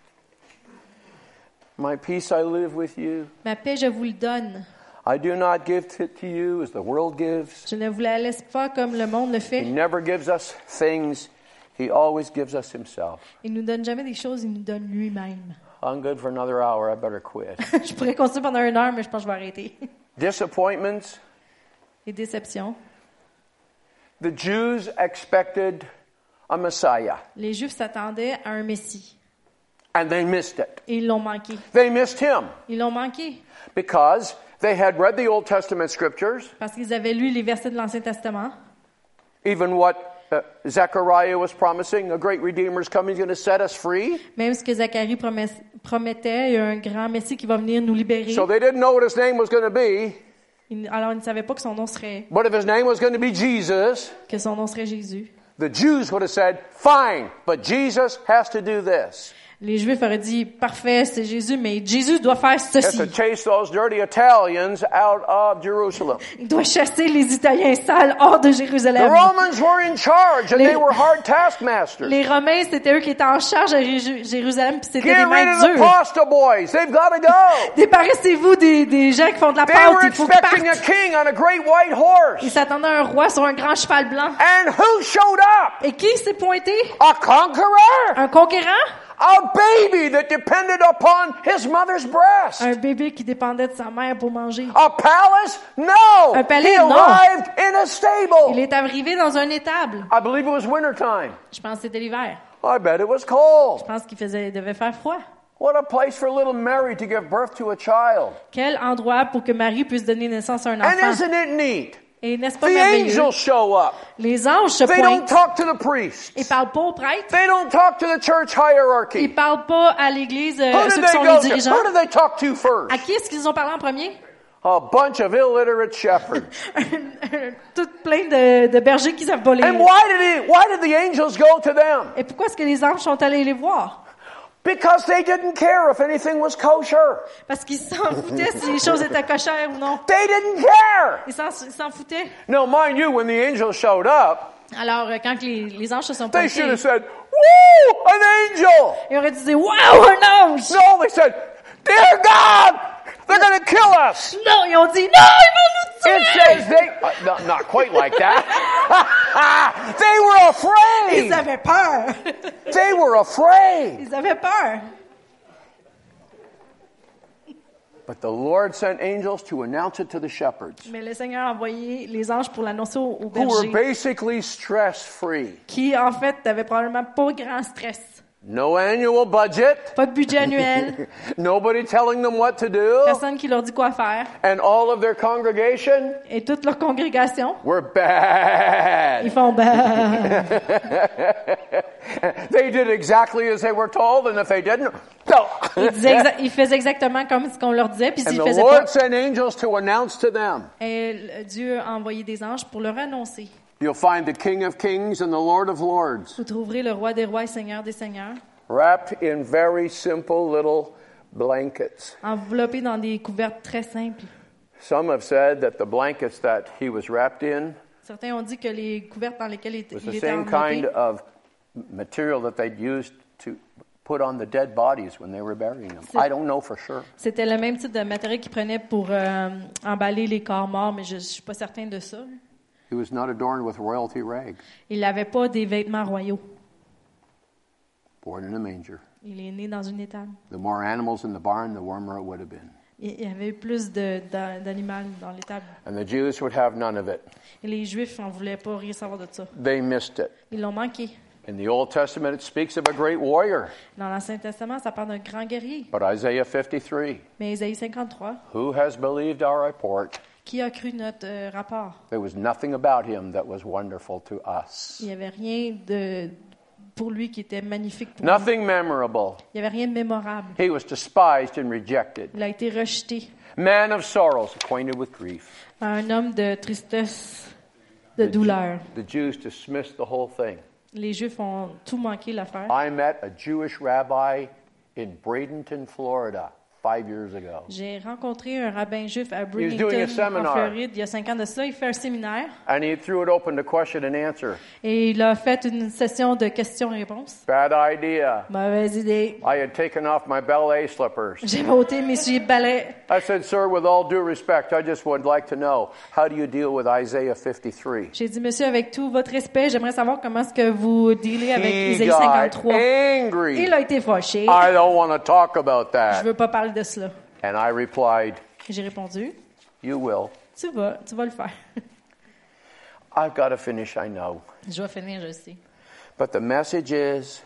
My peace I live with you. Ma paix, je vous le donne. I do not give it to you as the world gives. Je ne vous la laisse pas comme le monde le He fait. never gives us things. He always gives us himself. Il nous donne jamais des choses, il nous donne lui-même. I'm good for another hour. I better quit. Je pourrais continuer pendant une heure, mais je pense que je vais arrêter. Disappointments. Les déceptions. The Jews expected a Messiah, Les Juifs s'attendaient à un Messie. and they missed it. Et ils l'ont manqué. They missed him Ils l'ont manqué because they had read the Old Testament scriptures, parce qu'ils avaient lu les versets de l'Ancien Testament. even what uh, Zechariah was promising, a great Redeemer is coming, he's going to set us free. Même ce que Zacharie promet- promettait, il y a un grand Messie qui va venir nous libérer. So they didn't know what his name was going to be, Il- Alors, ils ne savaient pas que son nom serait, but if his name was going to be Jesus, que son nom serait Jésus. the Jews would have said, fine, but Jesus has to do this. Les Juifs auraient dit, parfait, c'est Jésus, mais Jésus doit faire He has to ceci. chase those dirty Italians out of Jerusalem. Il doit chasser les Italiens sales hors de The Jérusalem. Romans were in charge, and Les- they were hard taskmasters. Les Romains, c'était eux qui étaient en charge à Ré- Jérusalem, puis c'était Get des rid maîtres of the durs. pasta boys. They've got to go. Débarrassez-vous des, des gens qui font de la They pâte, were il faut qu'ils expecting a partent. king on a great white Ils horse. s'attendaient à un roi sur un grand cheval blanc. And who showed up? Et qui s'est pointé? A conqueror. Un conquérant? A baby that depended upon his mother's breast. Un bébé qui dépendait de sa mère pour manger. A palace? No. Un palais? He Non. arrived in a Il stable. est arrivé dans un étable. I believe it was wintertime. Je pense que c'était l'hiver. I bet it was cold. Je pense qu'il faisait, il devait faire froid. What a place for little Mary to give birth to a child. Quel endroit pour que Marie puisse donner naissance à un And enfant. isn't it neat? Et n'est-ce pas The merveilleux? angels show up. Les anges se They don't pointent. talk to the priests. Ils parlent pas aux prêtres. They don't talk to the church Ils hierarchy. parlent pas à l'église, euh, Who ceux did qui they sont go les to? dirigeants. Who did they talk to first? À qui est-ce qu'ils ont parlé en premier? A bunch of illiterate shepherds. Tout plein de, de bergers qui savent pas lire. And why did he, why did the angels go to them? Et pourquoi est-ce que les anges sont allés les voir? Because they didn't care if anything was kosher. Parce qu'ils s'en foutaient si les choses étaient cochères ou non. They didn't care. Ils s'en, ils s'en foutaient. Now, mind you, when the angels showed up, Alors, euh, quand les, les anges se sont they pointés, should have said, "Woo, an angel!" ils auraient dit « Wow, un ange! No, they said, "Dear God, they're going to kill us." » Non, ils ont dit « Non, ils vont nous It tuer! says they, uh, not, not quite like that. They were Ils afraid. avaient peur. They were afraid. Ils avaient peur. But the Lord sent angels to announce it to the shepherds, Mais le Seigneur a envoyé les anges pour l'annoncer aux, aux who were bergers, basically stress-free. qui en fait n'avaient probablement pas grand stress. No annual budget. Pas de budget annuel, Nobody telling them what to do. personne qui leur dit quoi faire. And all of their congregation Et toute leur congrégation, were bad. ils font ben. They did exactly as they were told, and if they didn't, no. Ils, disaient exa- ils faisaient exactement comme ce qu'on leur disait, puis And s'ils the faisaient pas, Lord sent angels to announce to them. et Dieu a envoyé des anges pour leur annoncer. you'll find the King of Kings and the Lord of Lords, Vous trouverez le roi des rois et seigneur des seigneurs, wrapped in very simple little blankets. enveloppé dans des couvertes très simples. Some have said that the blankets that he was wrapped in Certains ont dit que les couvertes dans lesquelles il était, was il the était same enveloppé, kind of material that they'd used to put on the dead bodies when they were burying them. C'est- I don't know for sure. c'était le même type de matériel qu'ils prenaient pour euh, emballer les corps morts, mais je ne suis pas certain de ça. He was not adorned with royalty rags, Il n'avait pas des vêtements royaux. born in a manger. Il est né dans une étable. The more animals in the barn, the warmer it would have been. Il y avait plus de, d'a- d'animaux dans l'étable. And the Jews would have none of it. Et les Juifs n'en voulaient pas rien savoir de ça. They missed it. Ils l'ont manqué. In the Old Testament, it speaks of a great warrior. Dans l'Ancien Testament, ça parle d'un grand guerrier. But Isaiah fifty-three, Mais Ésaïe cinquante-trois, who has believed our report? qui a cru notre euh, rapport? There was nothing about him that was wonderful to us. Il n'y avait rien de, pour lui qui était magnifique pour nous. Nothing memorable. Il n'y avait rien de mémorable. He was despised and rejected. Il a été rejeté. Man of sorrows, acquainted with grief. Un homme de tristesse, de douleur. The Jews dismissed the whole thing. Les Juifs ont tout manqué l'affaire. I met a Jewish rabbi in Bradenton, Florida, five years ago. J'ai rencontré un rabbin juif à was doing a Bradenton, en seminar. Floride, il y a cinq ans de cela. Il fait un séminaire And he threw it open to question and answer. et il a fait une session de questions-réponses. Bad idea. Mauvaise idée. I had taken off my ballet slippers. J'ai ôté mes souliers de ballet. I said, sir, with all due respect, I just would like to know, how do you deal with Isaiah fifty-three? J'ai dit, monsieur, avec tout votre respect, j'aimerais savoir comment est-ce que vous dealez avec He Isaïe got cinquante-trois. angry. Il a été fâché. I don't want to talk about Je that. veux pas parler de cela. And I replied, J'ai répondu, you will. tu vas, tu vas le faire. I've got to finish, I know. Je vais finir, je sais. But the message is,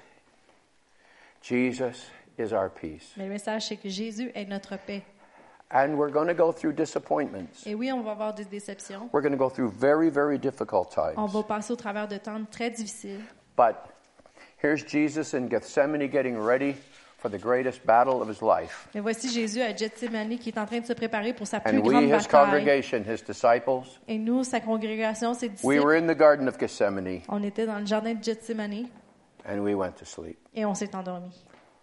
Jesus is our peace. Mais le message, c'est que Jésus est notre paix. And we're going to go through disappointments. Et oui, on va avoir des déceptions. We're going to go through very, very difficult On times. va passer au travers de temps très difficiles. But here's Jesus in Gethsemane getting ready for the greatest battle of his life. Mais voici Jésus à Gethsemane qui est en train de se préparer pour sa plus And we, grande his bataille. congregation, his disciples, Et nous, sa congrégation, ses we disciples, were in the Garden of Gethsemane on était dans le jardin de Gethsemane and we went to sleep. et on s'est endormi.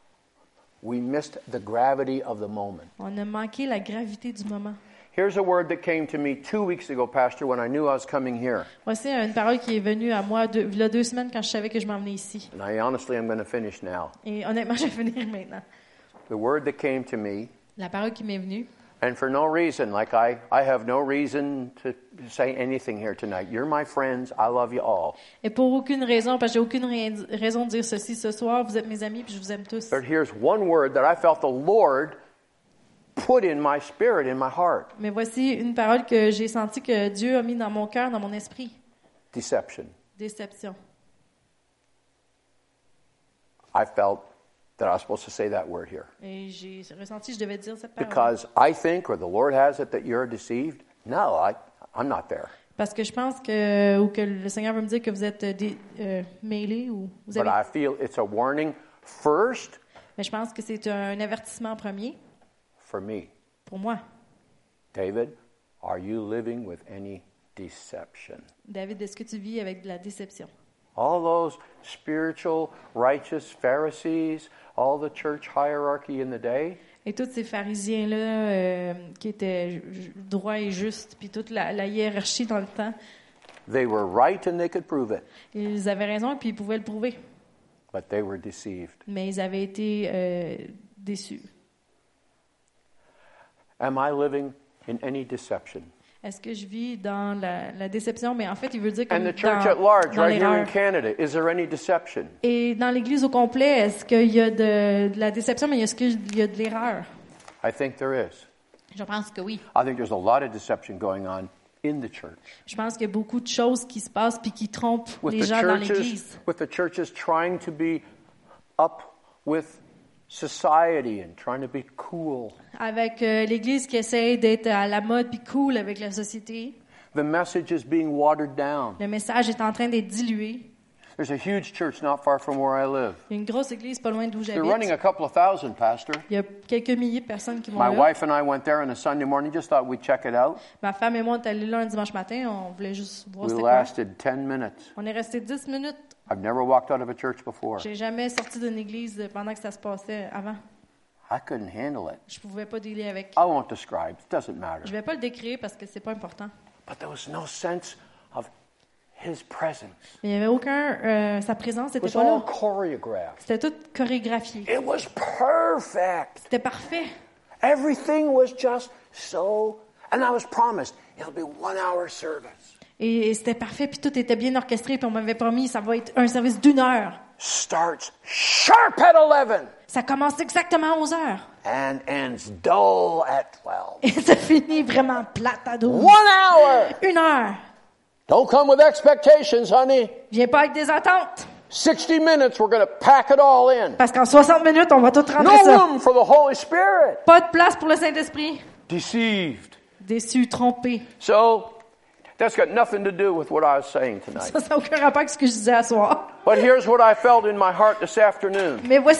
We missed the gravity of the moment. On a manqué la gravité du moment. Here's a word that came to me two weeks ago, Pastor, when I knew I was coming here. Voici une parole qui est venue à moi deux, il y a deux semaines quand je savais que je m'en venais ici. And I honestly am going to finish now. Et honnêtement, je vais finir maintenant. The word that came to me, La parole qui m'est venue, and for no reason, like I, I have no reason to say anything here tonight. You're my friends. I love you all. et pour aucune raison, parce que j'ai aucune rai- raison de dire ceci ce soir, vous êtes mes amis puis je vous aime tous. But here's one word that I felt the Lord put in my spirit, in my heart. Mais voici une parole que j'ai senti que Dieu a mis dans mon cœur, dans mon esprit. Deception. Déception. I felt that I was supposed to say that word here. Et j'ai ressenti que je devais dire cette parole. Because I think, or the Lord has it, that you're deceived. No, I, I'm not there. Parce que je pense que, ou que le Seigneur veut me dire que vous êtes euh, dé- euh, mêlés ou vous But avez. I feel it's a warning first Mais je pense que c'est un avertissement premier for me. pour moi. David, are you living with any deception? David, est-ce que tu vis avec de la déception? All those spiritual, righteous Pharisees, all the church hierarchy in the day, Et tous ces pharisiens-là euh, qui étaient ju- droits et justes, puis toute la, la hiérarchie dans le temps, they were right and they could prove it, ils avaient raison et puis ils pouvaient le prouver. but they were deceived. Mais ils avaient été euh, déçus. Am I living in any deception? Est-ce que je vis dans la, la déception? Mais en fait, il veut dire comme And dans, the church at large, dans right here in l'erreur. Canada, is there any deception? Et dans l'Église au complet, est-ce qu'il y a de, de la déception, mais est-ce qu'il y a de l'erreur? I think there is. Je pense que oui. I think there's a lot of deception going on in the church. Je pense qu'il y a beaucoup de choses qui se passent puis qui trompent With les the gens dans churches, l'Église. with the churches trying to be up with society and trying to be cool. Avec euh, l'Église qui essaie d'être à la mode puis cool avec la société. The message is being watered down. Le message est en train d'être dilué. There's a huge church not far from where I live. Il y a une grosse église pas loin d'où They're running j'habite. a couple of thousand, Pastor. Il y a quelques milliers de personnes qui vont My là. wife and I went there on a Sunday morning. Just thought we'd check it out. Ma femme et moi, on est allés là un dimanche matin. On voulait juste voir We c'était quoi. lasted ten minutes. On est resté dix minutes. I've never walked out of a church before. J'ai jamais sorti d'une église pendant que ça se passait avant. I couldn't handle it. Je pouvais pas dealer avec. I won't describe. It doesn't Je matter. vais pas le décrire parce que c'est pas important. But there was no sense of His presence. Mais il y avait aucun. Euh, sa présence It n'était was pas all là. choreographed. C'était tout chorégraphié. It was perfect. C'était parfait. Everything was just so. And I was promised it'll be one hour service. Et, et c'était parfait, puis tout était bien orchestré, puis on m'avait promis ça va être un service d'une heure. Starts sharp at eleven Ça commence exactement à onze heures. and ends dull at twelve. Et ça finit vraiment plate à douze. One hour. Une heure. Don't come with expectations, honey. Viens pas avec des attentes. sixty minutes, we're going to pack it all in. Parce qu'en soixante minutes, on va tout rentrer No ça. room for the Holy Spirit. Pas de place pour le Saint-Esprit. Deceived. Déçu, trompé. So, that's got nothing to do with what I was saying tonight. Ça n'a aucun rapport avec ce que je disais à soir. But here's what I felt in my heart this afternoon. Mais voici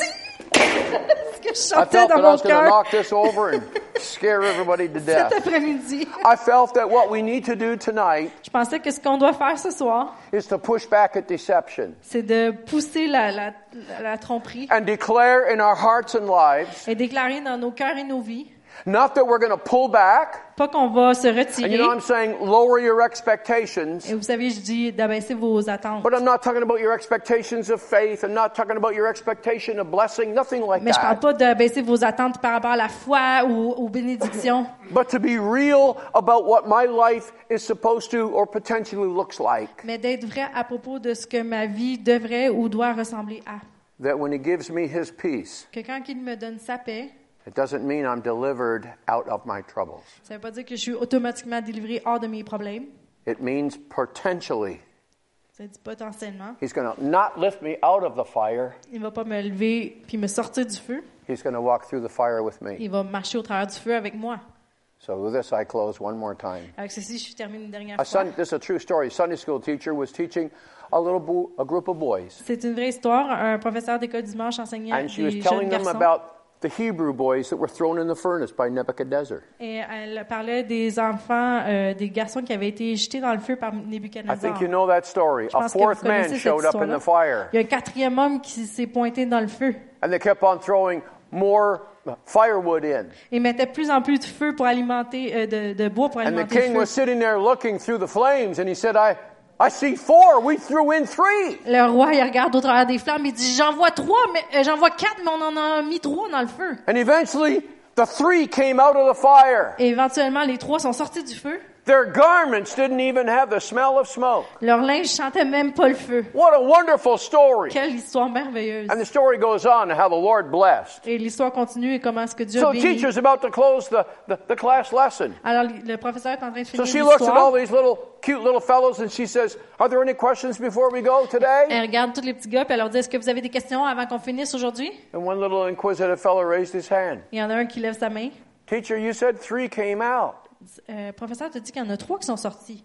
ce que je I sentais felt dans that I mon was going to cœur knock this over and scare everybody to cet death. après-midi. I felt that what we need to do tonight Je pensais que ce qu'on doit faire ce soir, is to push back at deception c'est de pousser la, la, la, la tromperie and declare in our hearts and lives, et déclarer dans nos cœurs et nos vies, not that we're going to pull back, pas qu'on va se and you retirer. know I'm saying lower your expectations, Et vous savez, je dis d'abaisser vos attentes. but I'm not talking about your expectations of faith. I'm not talking about your expectation of blessing, nothing like Mais je parle that. pas d'abaisser vos attentes par rapport à la foi ou aux bénédictions, But to be real about what my life is supposed to or potentially looks like. mais d'être vrai à propos de ce que ma vie devrait ou doit ressembler à. That when He gives me His peace, Que quand il me donne sa paix, it doesn't mean I'm delivered out of my troubles. ça veut pas dire que je suis automatiquement délivré hors de mes problèmes. It means potentially Ça dit potentiellement. He's going to not lift me out of the fire. Il va pas me lever puis me sortir du feu. He's going to walk through the fire with me. Il va marcher au travers du feu avec moi. So with this, I close one more time. Avec ceci, je termine une dernière A fois. son, this is a true story. A Sunday school teacher was teaching a little bo- a group of boys, C'est une vraie histoire. Un professeur d'école du dimanche enseignait and she was des jeunes telling them garçons. about the Hebrew boys that were thrown in the furnace by Nebuchadnezzar. Et elle parlait des enfants, euh, des garçons qui avaient été jetés dans le feu par I Nebuchadnezzar. think you know that story. Je A pense que vous fourth man connaissez cette showed up in histoire-là. the fire, Il y a un quatrième homme qui s'est pointé dans le feu. and they kept on throwing more firewood in. Il mettait de plus en plus de feu pour alimenter, euh, de, de bois pour And the alimenter le king feu. was sitting there looking through the flames, and he said, I, I see four. We threw in three. Le roi, il regarde au travers des flammes, il dit, j'en vois trois, mais euh, j'en vois quatre, mais on en a mis trois dans le feu. And eventually, the three came out of the fire. Et éventuellement, les trois sont sortis du feu. Their garments didn't even have the smell of smoke. Leur linge chantait même pas le feu. What a wonderful story. Quelle histoire merveilleuse. And the story goes on how the Lord blessed. Et l'histoire continue et comment est-ce que Dieu So a the béni. teacher's about to close the, the, the class lesson. Alors, le professeur est en train de So finir she looks at all l'histoire. these little cute little fellows and she says, are there any questions before we go today? Elle regarde tous les petits gars, puis elle leur dit, est-ce que vous avez des questions avant qu'on finisse aujourd'hui? And one little inquisitive fellow raised his hand. Il y en a un qui lève sa main. Teacher, you said three came out. Euh, le professeur te dit qu'il y en a trois qui sont sortis.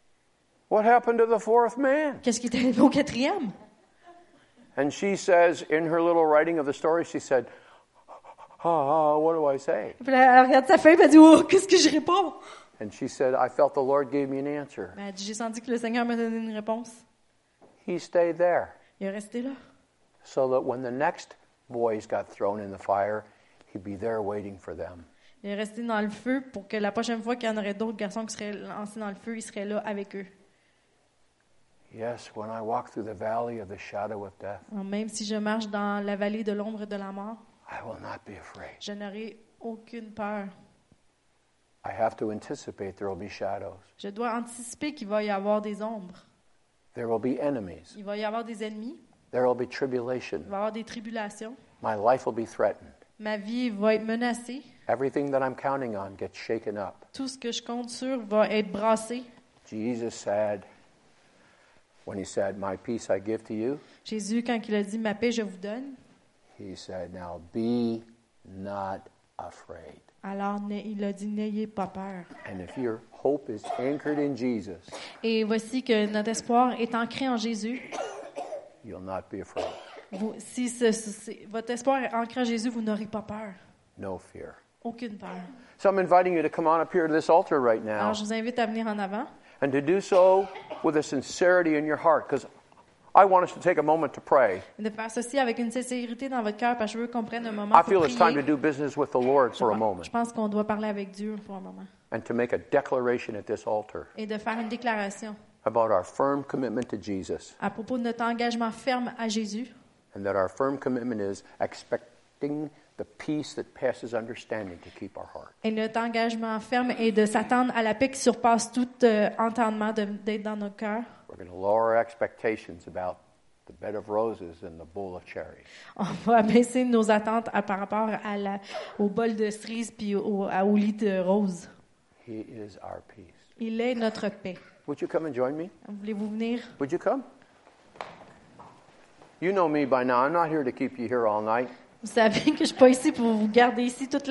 What happened to the fourth man? Qu'est-ce qui est arrivé au quatrième? And she says, in her little writing of the story, she said, oh, what do I say? Puis là, elle regarde sa feuille, puis elle dit, oh, qu'est-ce que je réponds? And she said, I felt the Lord gave me an answer. Ben, elle dit, j'ai senti que le Seigneur m'a donné une réponse. He stayed there Il est resté là. so that when the next boys got thrown in the fire, he'd be there waiting for them. Il est resté dans le feu pour que la prochaine fois qu'il y en aurait d'autres garçons qui seraient lancés dans le feu, il serait là avec eux. Yes, when I walk through the valley of the shadow of death, Alors, même si je marche dans la vallée de l'ombre de la mort, I will not be afraid. je n'aurai aucune peur. I have to anticipate there will be shadows. Je dois anticiper qu'il va y avoir des ombres. There will be enemies. Il va y avoir des ennemis. There will be tribulation. Il va y avoir des tribulations. My life will be threatened. Ma vie va être menacée. Everything that I'm counting on gets shaken up. Tout ce que je compte sur va être brassé. Jesus said, when he said, my peace I give to you, Jésus, quand il a dit « Ma paix, je vous donne he said, now be not afraid. », alors ne- il a dit « N'ayez pas peur And if your hope is anchored in Jesus, ». Et voici que notre espoir est ancré en Jésus. you'll not be afraid. Vous, si ce- ce- votre espoir est ancré en Jésus, vous n'aurez pas peur. No fear. Aucune peur. So I'm inviting you to come on up here to this altar right now Alors, je vous invite à venir en avant and to do so with a sincerity in your heart, because I want us to take a moment to pray. et de faire ceci avec une sincérité dans votre cœur parce que je veux qu'on prenne un moment I pour feel it's time to prier. do business with the Lord Je for a pense- moment Je pense qu'on doit parler avec Dieu pour un moment and to make a declaration at this altar et de faire une déclaration about our firm commitment to Jesus, à propos de notre engagement ferme à Jésus and that our firm commitment is expecting the peace that passes understanding to keep our heart. et notre engagement ferme est de s'attendre à la paix qui surpasse tout euh, entendement de- d'être dans nos cœurs. We're going to lower our expectations about the bed of roses and the bowl of cherries. On va abaisser nos attentes à- par rapport à la, au bol de cerises puis au, à- au lit de roses. He is our peace. Il est notre paix. Would you come and join me? Voulez-vous venir? Would you come? You know me by now. I'm not here to keep you here all night. Vous savez que je ne suis pas ici pour vous garder ici toute la